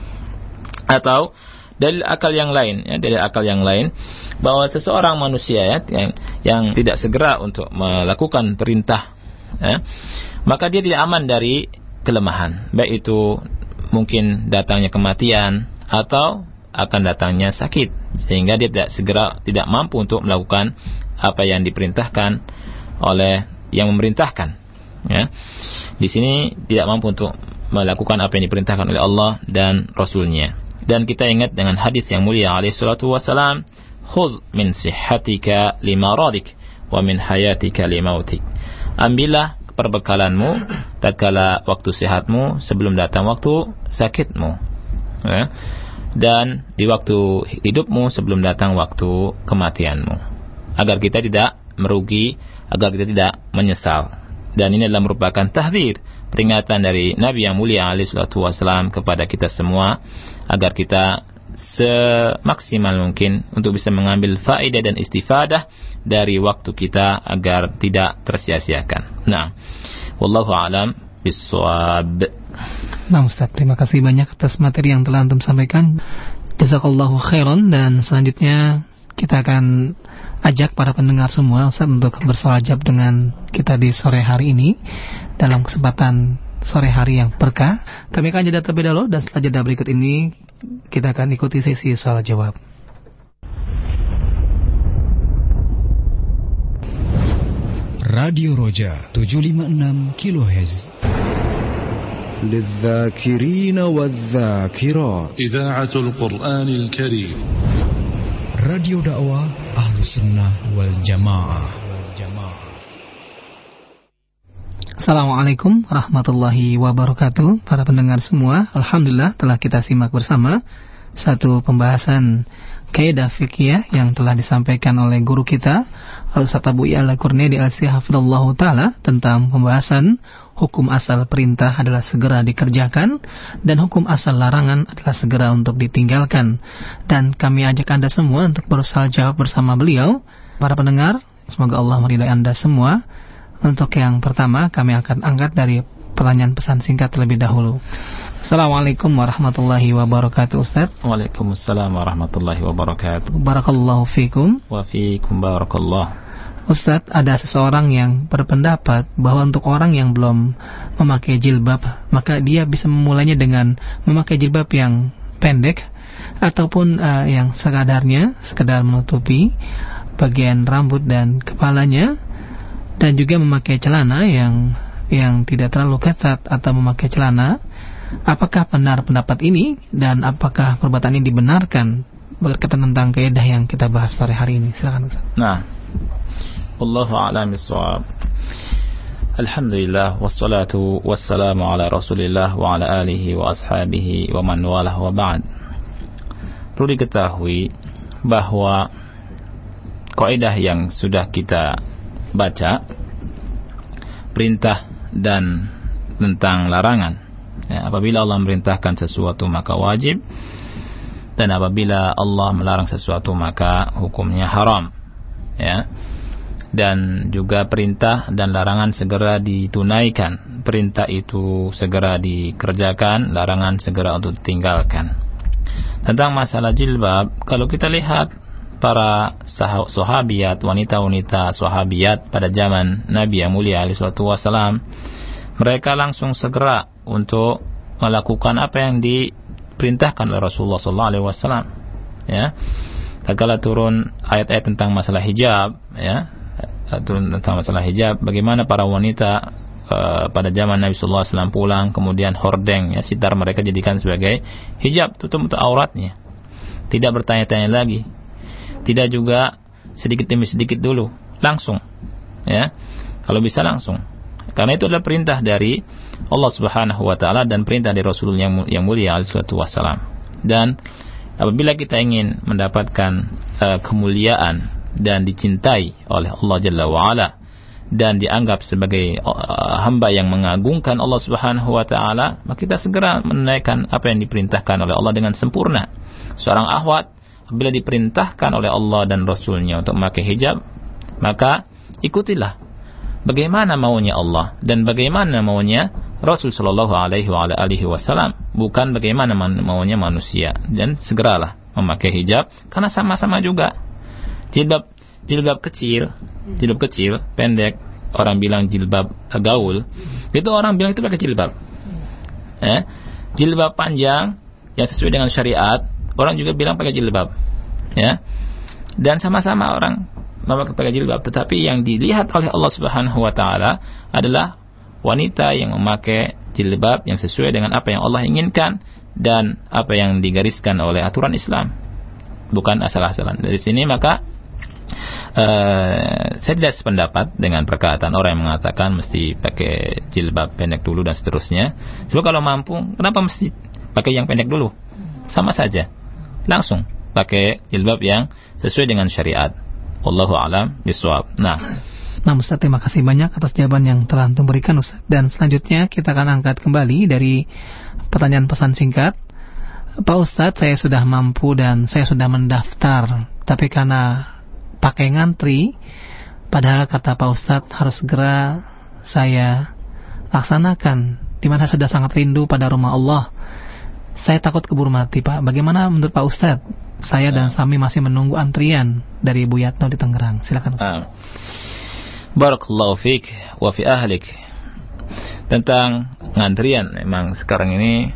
atau dalil akal yang lain, ya, dalil akal yang lain bahwa seseorang manusia, ya, yang tidak segera untuk melakukan perintah, ya, maka dia tidak aman dari kelemahan, baik itu mungkin datangnya kematian atau akan datangnya sakit, sehingga dia tidak mampu untuk melakukan apa yang diperintahkan oleh yang memerintahkan, ya. Di sini tidak mampu untuk melakukan apa yang diperintahkan oleh Allah dan Rasul-Nya. Dan kita ingat dengan hadis yang mulia alaihi salatu wassalam, khudh min sihhatika limaradik wa min hayatika limautik. Ambillah perbekalanmu tatkala waktu sehatmu sebelum datang waktu sakitmu, ya, dan di waktu hidupmu sebelum datang waktu kematianmu, agar kita tidak merugi, agar kita tidak menyesal. Dan ini adalah merupakan tahdzir, peringatan dari Nabi yang mulia alaihi salatu wasallam kepada kita semua, agar kita semaksimal mungkin untuk bisa mengambil faedah dan istifadah dari waktu kita agar tidak tersia-siakan. Nah, wallahu a'lam bissawab. Nah, Ustaz, terima kasih banyak atas materi yang telah antum sampaikan. Jazakallahu khairan. Dan selanjutnya kita akan ajak para pendengar semua, Ustaz, untuk bersolawat dengan kita di sore hari ini dalam kesempatan sore hari yang berkah. Kami akan jeda terlebih dahulu, dan setelah jeda berikut ini kita akan ikuti sesi soal jawab. Radio Roja 756 kHz. للذاكرين والذاكرات إذاعة القرآن الكريم. Radio dakwah Ahlus Sunnah wal Jamaah. Assalamualaikum warahmatullahi wabarakatuh. Para pendengar semua, alhamdulillah telah kita simak bersama satu pembahasan kaidah fikih yang telah disampaikan oleh guru kita Al-Ustaz Abu Ya'la Kurniadi Al-Hafidhullahu Ta'ala tentang pembahasan hukum asal perintah adalah segera dikerjakan dan hukum asal larangan adalah segera untuk ditinggalkan. Dan kami ajak Anda semua untuk berusaha jawab bersama beliau. Para pendengar, semoga Allah meridai Anda semua. Untuk yang pertama, kami akan angkat dari pertanyaan pesan singkat terlebih dahulu. Assalamualaikum warahmatullahi wabarakatuh, Ustaz. Waalaikumsalam warahmatullahi wabarakatuh. Barakallahu fikum. Wa fikum barakallah. Ustaz, ada seseorang yang berpendapat bahwa untuk orang yang belum memakai jilbab, maka dia bisa memulainya dengan memakai jilbab yang pendek ataupun yang sekedar menutupi bagian rambut dan kepalanya, dan juga memakai celana yang tidak terlalu ketat atau memakai celana. Apakah benar pendapat ini dan apakah perbuatan ini dibenarkan berkaitan tentang kaidah yang kita bahas pada hari ini? Silakan Ustaz. Nah, wallahu a'lam bissawab. Alhamdulillah wassalatu wassalamu ala Rasulillah wa ala alihi wa ashabihi wa man walah wa ba'd. Perlu diketahui bahwa kaidah yang sudah kita baca, perintah dan tentang larangan, ya, apabila Allah memerintahkan sesuatu maka wajib, dan apabila Allah melarang sesuatu maka hukumnya haram, ya. Dan juga perintah dan larangan segera ditunaikan. Perintah itu segera dikerjakan, larangan segera untuk ditinggalkan. Tentang masalah jilbab, kalau kita lihat para sahabiat, wanita-wanita sahabiat pada zaman Nabi yang mulia alaihi salatu wasalam, mereka langsung segera untuk melakukan apa yang diperintahkan oleh Rasulullah sallallahu alaihi wasallam, ya. Tatkala turun ayat-ayat tentang masalah hijab, ya, turun tentang masalah hijab, bagaimana para wanita pada zaman Nabi sallallahu alaihi wasallam pulang, kemudian hordeng, ya, sitar mereka jadikan sebagai hijab, tutup auratnya. Tidak bertanya-tanya lagi. Tidak juga sedikit demi sedikit dulu, langsung, ya, kalau bisa langsung, karena itu adalah perintah dari Allah Subhanahu wa Ta'ala dan perintah dari Rasul yang mulia alaihi salatu wassalam. Dan apabila kita ingin mendapatkan kemuliaan dan dicintai oleh Allah Jalla wa Ala dan dianggap sebagai hamba yang mengagungkan Allah Subhanahu wa Ta'ala, maka kita segera menunaikan apa yang diperintahkan oleh Allah dengan sempurna. Seorang akhwat bila diperintahkan oleh Allah dan Rasulnya untuk memakai hijab, maka ikutilah bagaimana maunya Allah dan bagaimana maunya Rasul sallallahu alaihi wasallam, bukan bagaimana maunya manusia. Dan segeralah memakai hijab, karena sama-sama juga jilbab kecil pendek, orang bilang jilbab gaul, itu orang bilang itu pakai jilbab. Jilbab panjang yang sesuai dengan syariat, orang juga bilang pakai jilbab, ya. Dan sama-sama orang memakai jilbab, tetapi yang dilihat oleh Allah Subhanahu wa Ta'ala adalah wanita yang memakai jilbab yang sesuai dengan apa yang Allah inginkan dan apa yang digariskan oleh aturan Islam, bukan asal-asalan. Dari sini maka saya tidak sependapat dengan perkataan orang yang mengatakan mesti pakai jilbab pendek dulu dan seterusnya. Sebab kalau mampu, kenapa mesti pakai yang pendek dulu? Sama saja, langsung pakai jilbab yang sesuai dengan syariat. Wallahu a'lam bishawab. Nah, Ustaz, terima kasih banyak atas jawaban yang telah Antum berikan, Ustaz. Dan selanjutnya kita akan angkat kembali dari pertanyaan pesan singkat. Pak Ustaz, saya sudah mampu dan saya sudah mendaftar, tapi karena pakai ngantri, padahal kata Pak Ustaz harus segera saya laksanakan, dimana sudah sangat rindu pada rumah Allah. Saya takut keburu mati, Pak. Bagaimana menurut Pak Ustaz? Saya dan Sami masih menunggu antrian dari Bu Yatno di Tangerang. Silakan Ustaz. Barakallahu fiik wa fi ahlik. Tentang ngantrian, memang sekarang ini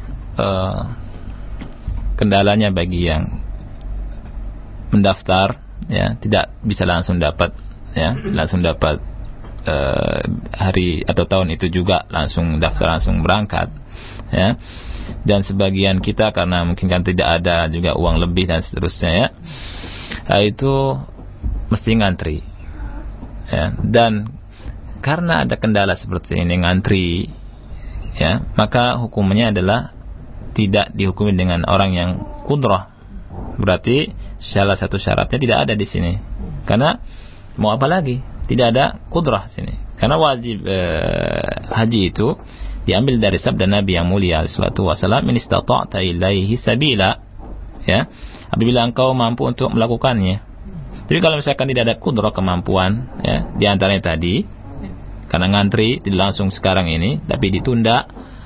kendalanya bagi yang mendaftar, ya, tidak bisa langsung dapat, ya, langsung dapat hari atau tahun itu juga langsung daftar, langsung berangkat, ya. Dan sebagian kita karena mungkin kan tidak ada juga uang lebih dan seterusnya, ya, itu mesti ngantri, ya. Dan karena ada kendala seperti ini, ngantri, ya, maka hukumnya adalah tidak dihukumi dengan orang yang kudrah. Berarti salah satu syaratnya tidak ada di sini. Karena mau apa lagi? Tidak ada kudrah sini. Karena wajib haji itu diambil dari sabda Nabi yang mulia sallallahu alaihi wasallam, "In istata'ta ilaihi sabila." Ya, apabila engkau mampu untuk melakukannya. Tapi kalau misalkan tidak ada kudrah, kemampuan, ya, di antaranya tadi karena ngantri tidak langsung sekarang ini tapi ditunda,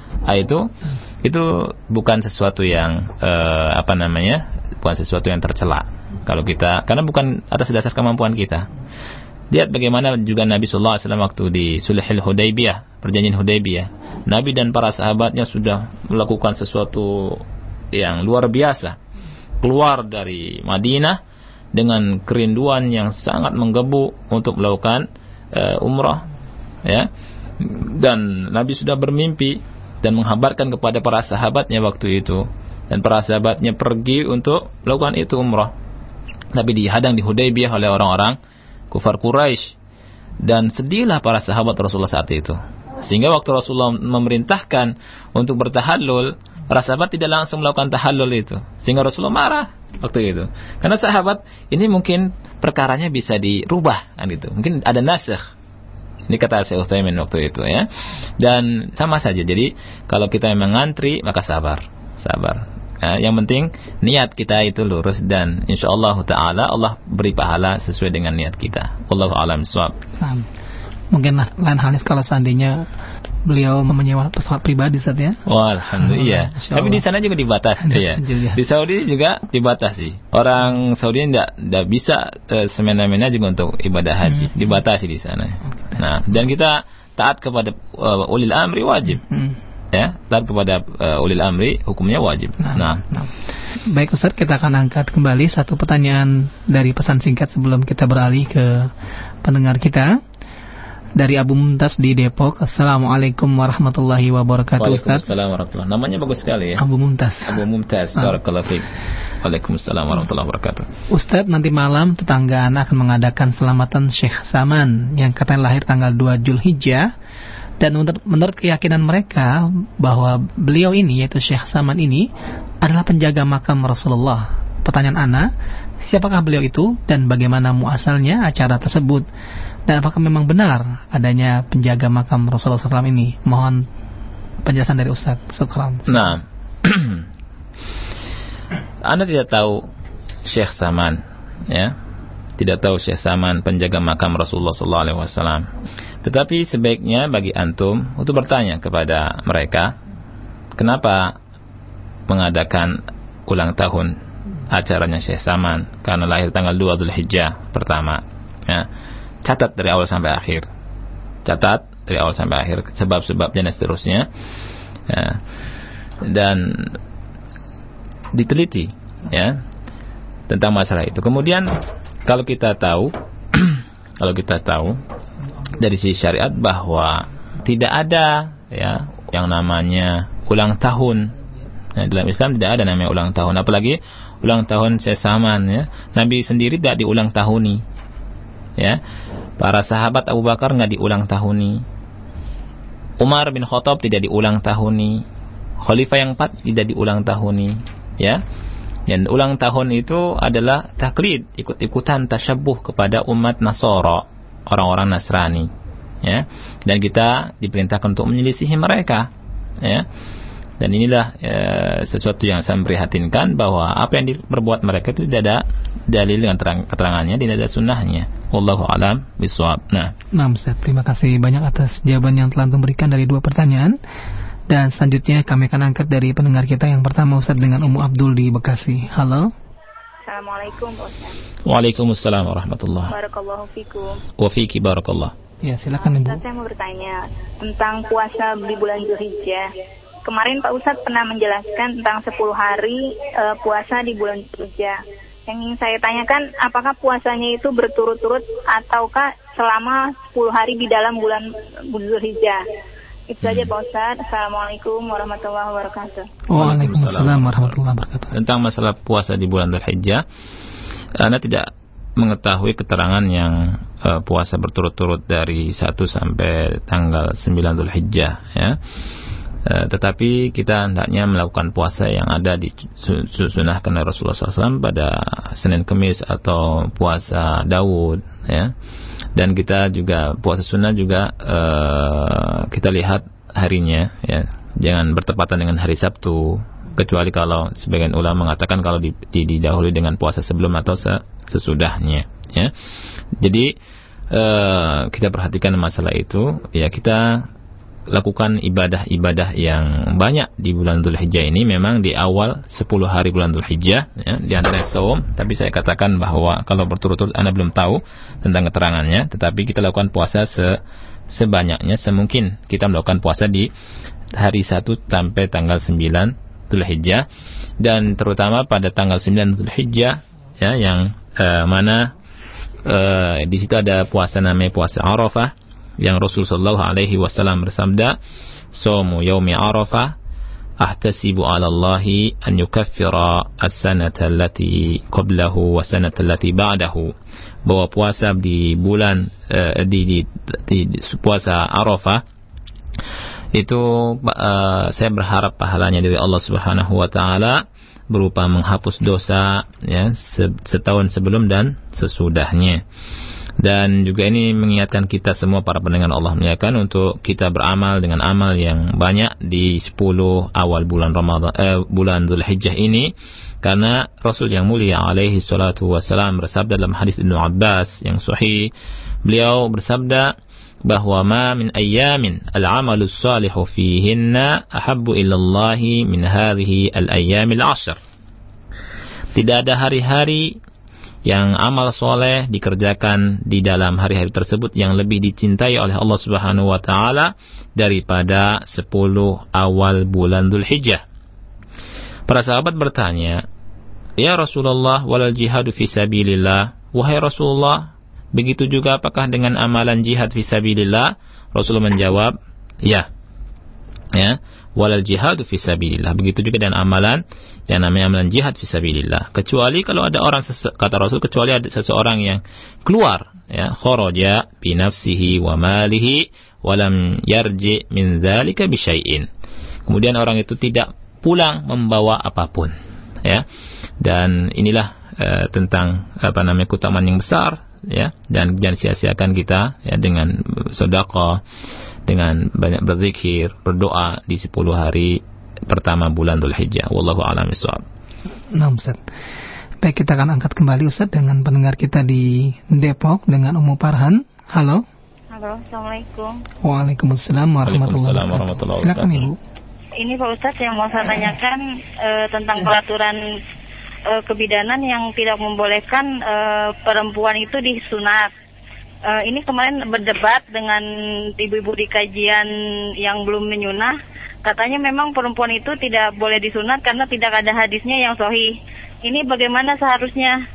itu bukan sesuatu yang bukan sesuatu yang tercela kalau kita, karena bukan atas dasar kemampuan kita. Lihat bagaimana juga Nabi sallallahu alaihi wasallam waktu di Sulhul Hudaybiyah, perjanjian Hudaybiyah, Nabi dan para sahabatnya sudah melakukan sesuatu yang luar biasa, keluar dari Madinah dengan kerinduan yang sangat menggebu untuk melakukan umrah, ya. Dan Nabi sudah bermimpi dan menghabarkan kepada para sahabatnya waktu itu, dan para sahabatnya pergi untuk melakukan itu umrah. Tapi dihadang di Hudaybiyah oleh orang-orang kufar Quraisy, dan sedihlah para sahabat Rasulullah saat itu. Sehingga waktu Rasulullah memerintahkan untuk bertahallul, para sahabat tidak langsung melakukan tahallul itu. Sehingga Rasulullah marah waktu itu. Karena sahabat ini mungkin perkaranya bisa dirubah, kan gitu. Mungkin ada nasakh. Ini kata Syekh Utsaimin waktu itu, ya. Dan sama saja. Jadi kalau kita memang ngantri, maka sabar. Yang penting niat kita itu lurus, dan insyaallah taala Allah beri pahala sesuai dengan niat kita. Wallahu a'lam bishawab. Mungkin lain halnya kalau seandainya beliau menyewa pesawat pribadi, Ustaz, ya. Alhamdulillah. Tapi di sana juga dibatasi, ya. Di Saudi juga dibatasi. Orang Saudi tidak bisa semena-mena juga untuk ibadah haji, dibatasi di sana. Nah, dan kita taat kepada ulil amri wajib. Ya, taat kepada ulil amri hukumnya wajib. Nah. Baik Ustaz, kita akan angkat kembali satu pertanyaan dari pesan singkat sebelum kita beralih ke pendengar kita. Dari Abu Mumtaz di Depok. Assalamualaikum warahmatullahi wabarakatuh, Ustaz. Waalaikumsalam warahmatullahi. Namanya bagus sekali, ya. Abu Mumtaz. Barakallahu fiik. Waalaikumsalam warahmatullahi wabarakatuh. Ustaz, nanti malam tetangga anak akan mengadakan selamatan Syekh Saman yang katanya lahir tanggal 2 Zulhijjah. Dan menurut keyakinan mereka bahwa beliau ini, yaitu Syekh Saman ini, adalah penjaga makam Rasulullah. Pertanyaan ana, siapakah beliau itu dan bagaimana muasalnya acara tersebut? Dan apakah memang benar adanya penjaga makam Rasulullah SAW ini? Mohon penjelasan dari Ustaz. Syukran. Nah, Anda tidak tahu Syekh Saman, ya, tidak tahu Syekh Saman penjaga makam Rasulullah SAW. Tetapi sebaiknya bagi antum untuk bertanya kepada mereka, kenapa mengadakan ulang tahun acaranya Syekh Saman? Karena lahir tanggal 2 Zulhijjah pertama, ya. Catat dari awal sampai akhir. Sebab-sebabnya dan seterusnya, ya. Dan diteliti, ya, tentang masalah itu. Kemudian kalau kita tahu dari sisi syariat bahwa tidak ada, ya, yang namanya ulang tahun. Nah, dalam Islam tidak ada namanya ulang tahun, apalagi ulang tahun Syekh Saman, ya. Nabi sendiri tidak diulang tahuni, ya. Para sahabat Abu Bakar nggak diulang tahuni, Umar bin Khattab tidak diulang tahuni, Khalifah yang 4 tidak diulang tahuni, ya. Dan ulang tahun itu adalah taklid, ikut-ikutan tasyabbuh kepada umat Nasara, orang-orang Nasrani, ya. Dan kita diperintahkan untuk menyelisihi mereka, ya. Dan inilah sesuatu yang saya memprihatinkan, bahwa apa yang diperbuat mereka itu tidak ada dalil dengan keterangannya, tidak ada sunnahnya. Wallahu a'lam bishawab. Nah, Ustaz, terima kasih banyak atas jawaban yang telah memberikan dari 2 pertanyaan. Dan selanjutnya kami akan angkat dari pendengar kita yang pertama, Ustaz, dengan Ummu Abdul di Bekasi. Halo. Assalamualaikum, Ustaz. Waalaikumsalam warahmatullahi. Barakallahu fikum. Wa fiki barakallah. Ya, silakan Ibu. Ustaz, saya mau bertanya tentang puasa di bulan Zulhijjah. Kemarin Pak Ustadz pernah menjelaskan tentang 10 hari puasa di bulan Zulhijjah. Yang ingin saya tanyakan, apakah puasanya itu berturut-turut ataukah selama 10 hari di dalam bulan Zulhijjah? Itu saja Pak Ustadz. Assalamualaikum warahmatullahi wabarakatuh. Waalaikumsalam warahmatullahi wabarakatuh. Tentang masalah puasa di bulan Zulhijjah, Anda tidak mengetahui keterangan yang puasa berturut-turut dari 1 sampai tanggal 9 Dzulhijjah ya. Tetapi kita hendaknya melakukan puasa yang ada di sunahkan oleh Rasulullah SAW pada Senin Kemis atau puasa Daud ya. Dan kita juga puasa sunnah juga kita lihat harinya ya, jangan bertepatan dengan hari Sabtu, kecuali kalau sebagian ulama mengatakan kalau didahului dengan puasa sebelum atau sesudahnya ya. Jadi kita perhatikan masalah itu ya, kita lakukan ibadah-ibadah yang banyak di bulan Dzulhijjah ini. Memang di awal 10 hari bulan Dzulhijjah ya, di antara saum, tapi saya katakan bahwa kalau berturut-turut Anda belum tahu tentang keterangannya, tetapi kita lakukan puasa sebanyaknya semungkin kita melakukan puasa di hari 1 sampai tanggal 9 Dzulhijjah, dan terutama pada tanggal 9 Dzulhijjah ya, yang mana di situ ada puasa namanya puasa Arafah, yang Rasulullah sallallahu alaihi wasallam bersabda, "Shaumu yaumi Arafah ahtasibu 'ala Allahi an yukaffira as-sanata allati qablahu wa sanata allati ba'dahu." Bahwa puasa di bulan di puasa Arafah itu saya berharap pahalanya dari Allah Subhanahu wa taala berupa menghapus dosa ya, setahun sebelum dan sesudahnya. Dan juga ini mengingatkan kita semua para pendengar Allah muliakan untuk kita beramal dengan amal yang banyak di 10 awal bulan bulan Dzulhijjah ini, karena Rasul yang mulia alaihi salatu wasalam bersabda dalam hadis Ibnu Abbas yang sahih, beliau bersabda bahwa ma min ayyamin al-amalus salihu fihinna ahabbu ilallahi min hadhihi al-ayyamil 'ashr. Tidak ada hari-hari yang amal soleh dikerjakan di dalam hari-hari tersebut yang lebih dicintai oleh Allah Subhanahu wa taala daripada 10 awal bulan Dzulhijjah. Para sahabat bertanya, "Ya Rasulullah, walal jihadu fi sabilillah?" Wahai Rasulullah, begitu juga apakah dengan amalan jihad fi sabilillah? Rasulullah menjawab, "Ya. Ya, walal jihadu fi sabilillah." Begitu juga dengan amalan yang namanya amalan jihad fisabilillah, kecuali kalau ada orang, kata Rasul, kecuali ada seseorang yang keluar ya, kharaja bi nafsihi wa malihi wa lam yarji min dzalika bi syai'in. Kemudian orang itu tidak pulang membawa apapun ya. Dan inilah tentang keutamaan yang besar ya, dan jangan sia-siakan kita ya dengan sedekah, dengan banyak berzikir, berdoa di 10 hari pertama bulan Dzulhijjah. Wallahu a'lam bishawab. Nah, Ustaz. Baik, kita akan angkat kembali Ustaz dengan pendengar kita di Depok dengan Ummu Farhan. Halo. Halo, Assalamualaikum. Waalaikumsalam warahmatullahi wabarakatuh. Silakan Ibu. Ini Pak Ustaz yang mau saya tanyakan tentang peraturan kebidanan yang tidak membolehkan perempuan itu disunat. Ini kemarin berdebat dengan ibu-ibu di kajian yang belum menyunah. Katanya memang perempuan itu tidak boleh disunat karena tidak ada hadisnya yang sahih. Ini bagaimana seharusnya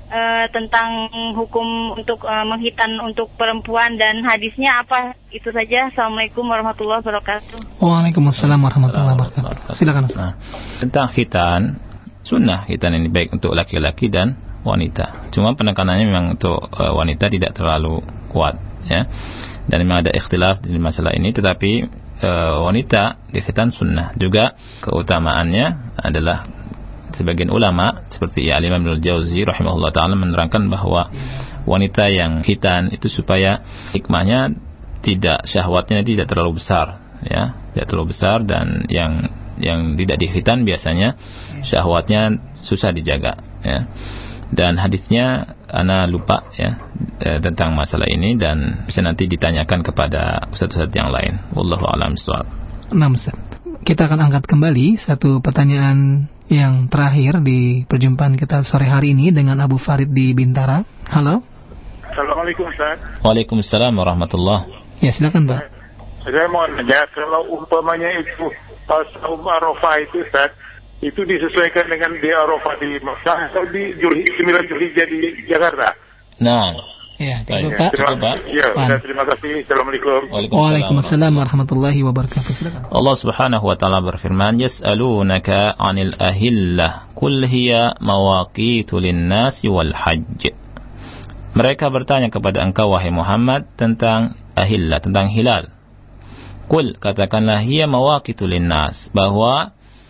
tentang hukum untuk menghitan untuk perempuan dan hadisnya apa? Itu saja. Assalamualaikum warahmatullahi wabarakatuh. Waalaikumsalam warahmatullahi wabarakatuh. Silakan Ustaz. Tentang khitan, sunnah khitan ini baik untuk laki-laki dan wanita. Cuma penekanannya memang untuk wanita tidak terlalu kuat ya. Dan memang ada ikhtilaf di masalah ini, tetapi wanita di khitan sunnah. Juga keutamaannya adalah sebagian ulama seperti Imam Ibnul Jauzi rahimahullah ta'ala menerangkan bahwa wanita yang khitan itu supaya hikmahnya tidak, syahwatnya tidak terlalu besar ya, tidak terlalu besar, dan yang tidak di khitan biasanya syahwatnya susah dijaga ya. Dan hadisnya ana lupa ya tentang masalah ini, dan bisa nanti ditanyakan kepada ustaz-ustaz yang lain. Wallahu a'lam bishawab. Nah, Ustaz, kita akan angkat kembali satu pertanyaan yang terakhir di perjumpaan kita sore hari ini dengan Abu Farid di Bintara. Halo. Assalamualaikum Ustaz. Waalaikumsalam warahmatullahi. Ya, silakan Pak. Saya mau nanya, kalau umpamanya itu saum Arafah itu Ustaz, itu disesuaikan dengan di Arafah di Makkah atau di 9 Dzulhijjah di Jakarta? Nah, ya, Pak. Ya, terima kasih. Assalamualaikum. Waalaikumsalam warahmatullahi wabarakatuh. Silakan. Allah Subhanahu wa taala berfirman, "Yas'alunaka 'anil ahillah, qul hiya mawaqitu lin-nasi wal hajj." mereka bertanya kepada engkau wahai Muhammad tentang ahillah, tentang hilal. Qul, katakanlah, hiya mawaqitu linnas, bahwa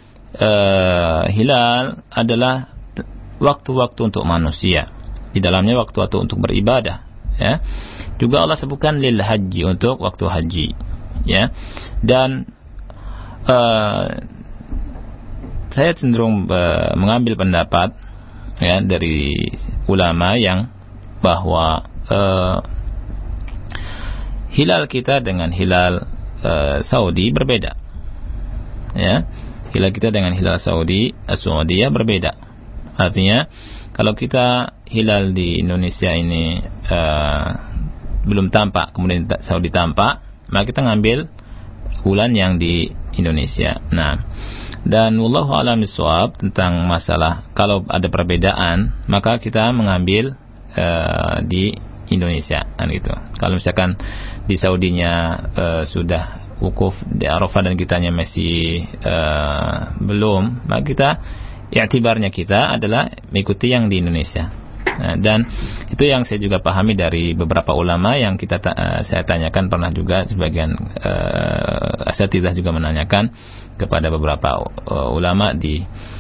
hilal adalah waktu-waktu untuk manusia. Di dalamnya waktu-waktu untuk beribadah, ya. Juga Allah sebutkan lil haji, untuk waktu haji, ya. Dan saya cenderung mengambil pendapat, ya, dari ulama yang bahwa hilal kita dengan hilal Saudi berbeda, ya. Hilal kita dengan hilal Saudiyah berbeda. Artinya kalau kita hilal di Indonesia ini belum tampak, kemudian Saudi tampak, maka kita ngambil bulan yang di Indonesia. Nah, dan wallahu a'lam bishawab tentang masalah kalau ada perbedaan, maka kita mengambil di Indonesia, kan gitu. Kalau misalkan di Saudinya sudah wukuf di Arafah dan kitanya masih belum, maka kita i'tibarnya kita adalah mengikuti yang di Indonesia. Dan itu yang saya juga pahami dari beberapa ulama yang saya tanyakan, pernah juga sebagian asatidzah juga menanyakan kepada beberapa ulama di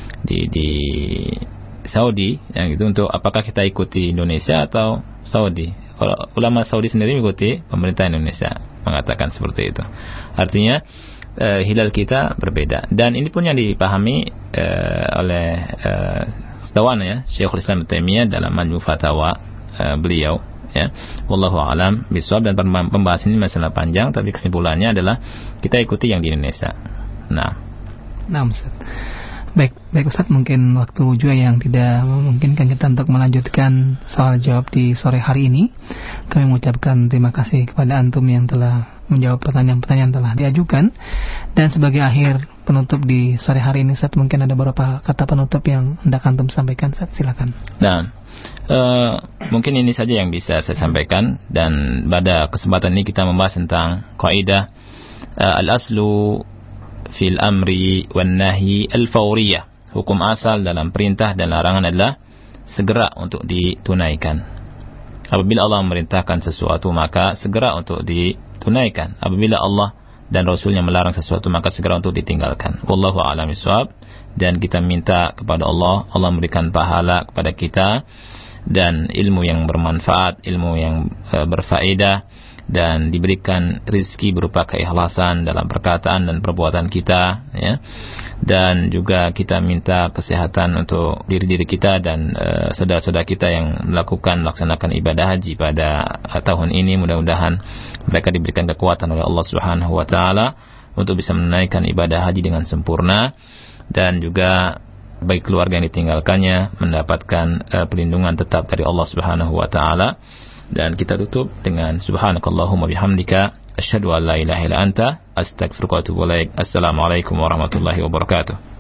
Saudi, yang itu untuk apakah kita ikuti Indonesia atau Saudi. Ulama Saudi sendiri mengikuti pemerintah Indonesia, mengatakan seperti itu. Artinya hilal kita berbeda, dan ini pun yang dipahami oleh setawan, ya, Syekhul Islam Ibnu Taimiyah dalam Majmu' Fatawa beliau, ya. Wallahu a'lam bishawab. Dan pembahasan ini masalah panjang, tapi kesimpulannya adalah kita ikuti yang di Indonesia. Nah, Ustaz. Baik Ustaz, mungkin waktu juga yang tidak memungkinkan kita untuk melanjutkan soal jawab di sore hari ini. Kami mengucapkan terima kasih kepada antum yang telah menjawab pertanyaan-pertanyaan yang telah diajukan. Dan sebagai akhir penutup di sore hari ini, Ustaz, mungkin ada beberapa kata penutup yang hendak antum sampaikan, Ustaz, silakan. Nah, mungkin ini saja yang bisa saya sampaikan, dan pada kesempatan ini kita membahas tentang kaidah al-aslu fil amri wan nahi al-fawriyah. Hukum asal dalam perintah dan larangan adalah segera untuk ditunaikan. Apabila Allah memerintahkan sesuatu, maka segera untuk ditunaikan. Apabila Allah dan Rasulnya melarang sesuatu, maka segera untuk ditinggalkan. Wallahu a'lam bishawab. Dan kita minta kepada Allah memberikan pahala kepada kita, dan ilmu yang bermanfaat, ilmu yang berfaedah, dan diberikan rizki berupa keikhlasan dalam perkataan dan perbuatan kita, ya. Dan juga kita minta kesehatan untuk diri kita dan saudara-saudara kita yang melaksanakan ibadah haji pada tahun ini. Mudah-mudahan mereka diberikan kekuatan oleh Allah Subhanahu wa taala untuk bisa menunaikan ibadah haji dengan sempurna, dan juga baik keluarga yang ditinggalkannya mendapatkan perlindungan tetap dari Allah Subhanahu wa taala. Dan kita tutup dengan subhanakallahumma bihamdika asyhadu an la ilaha illa anta astaghfiruka wa atubu ilaik. Assalamualaikum warahmatullahi wabarakatuh.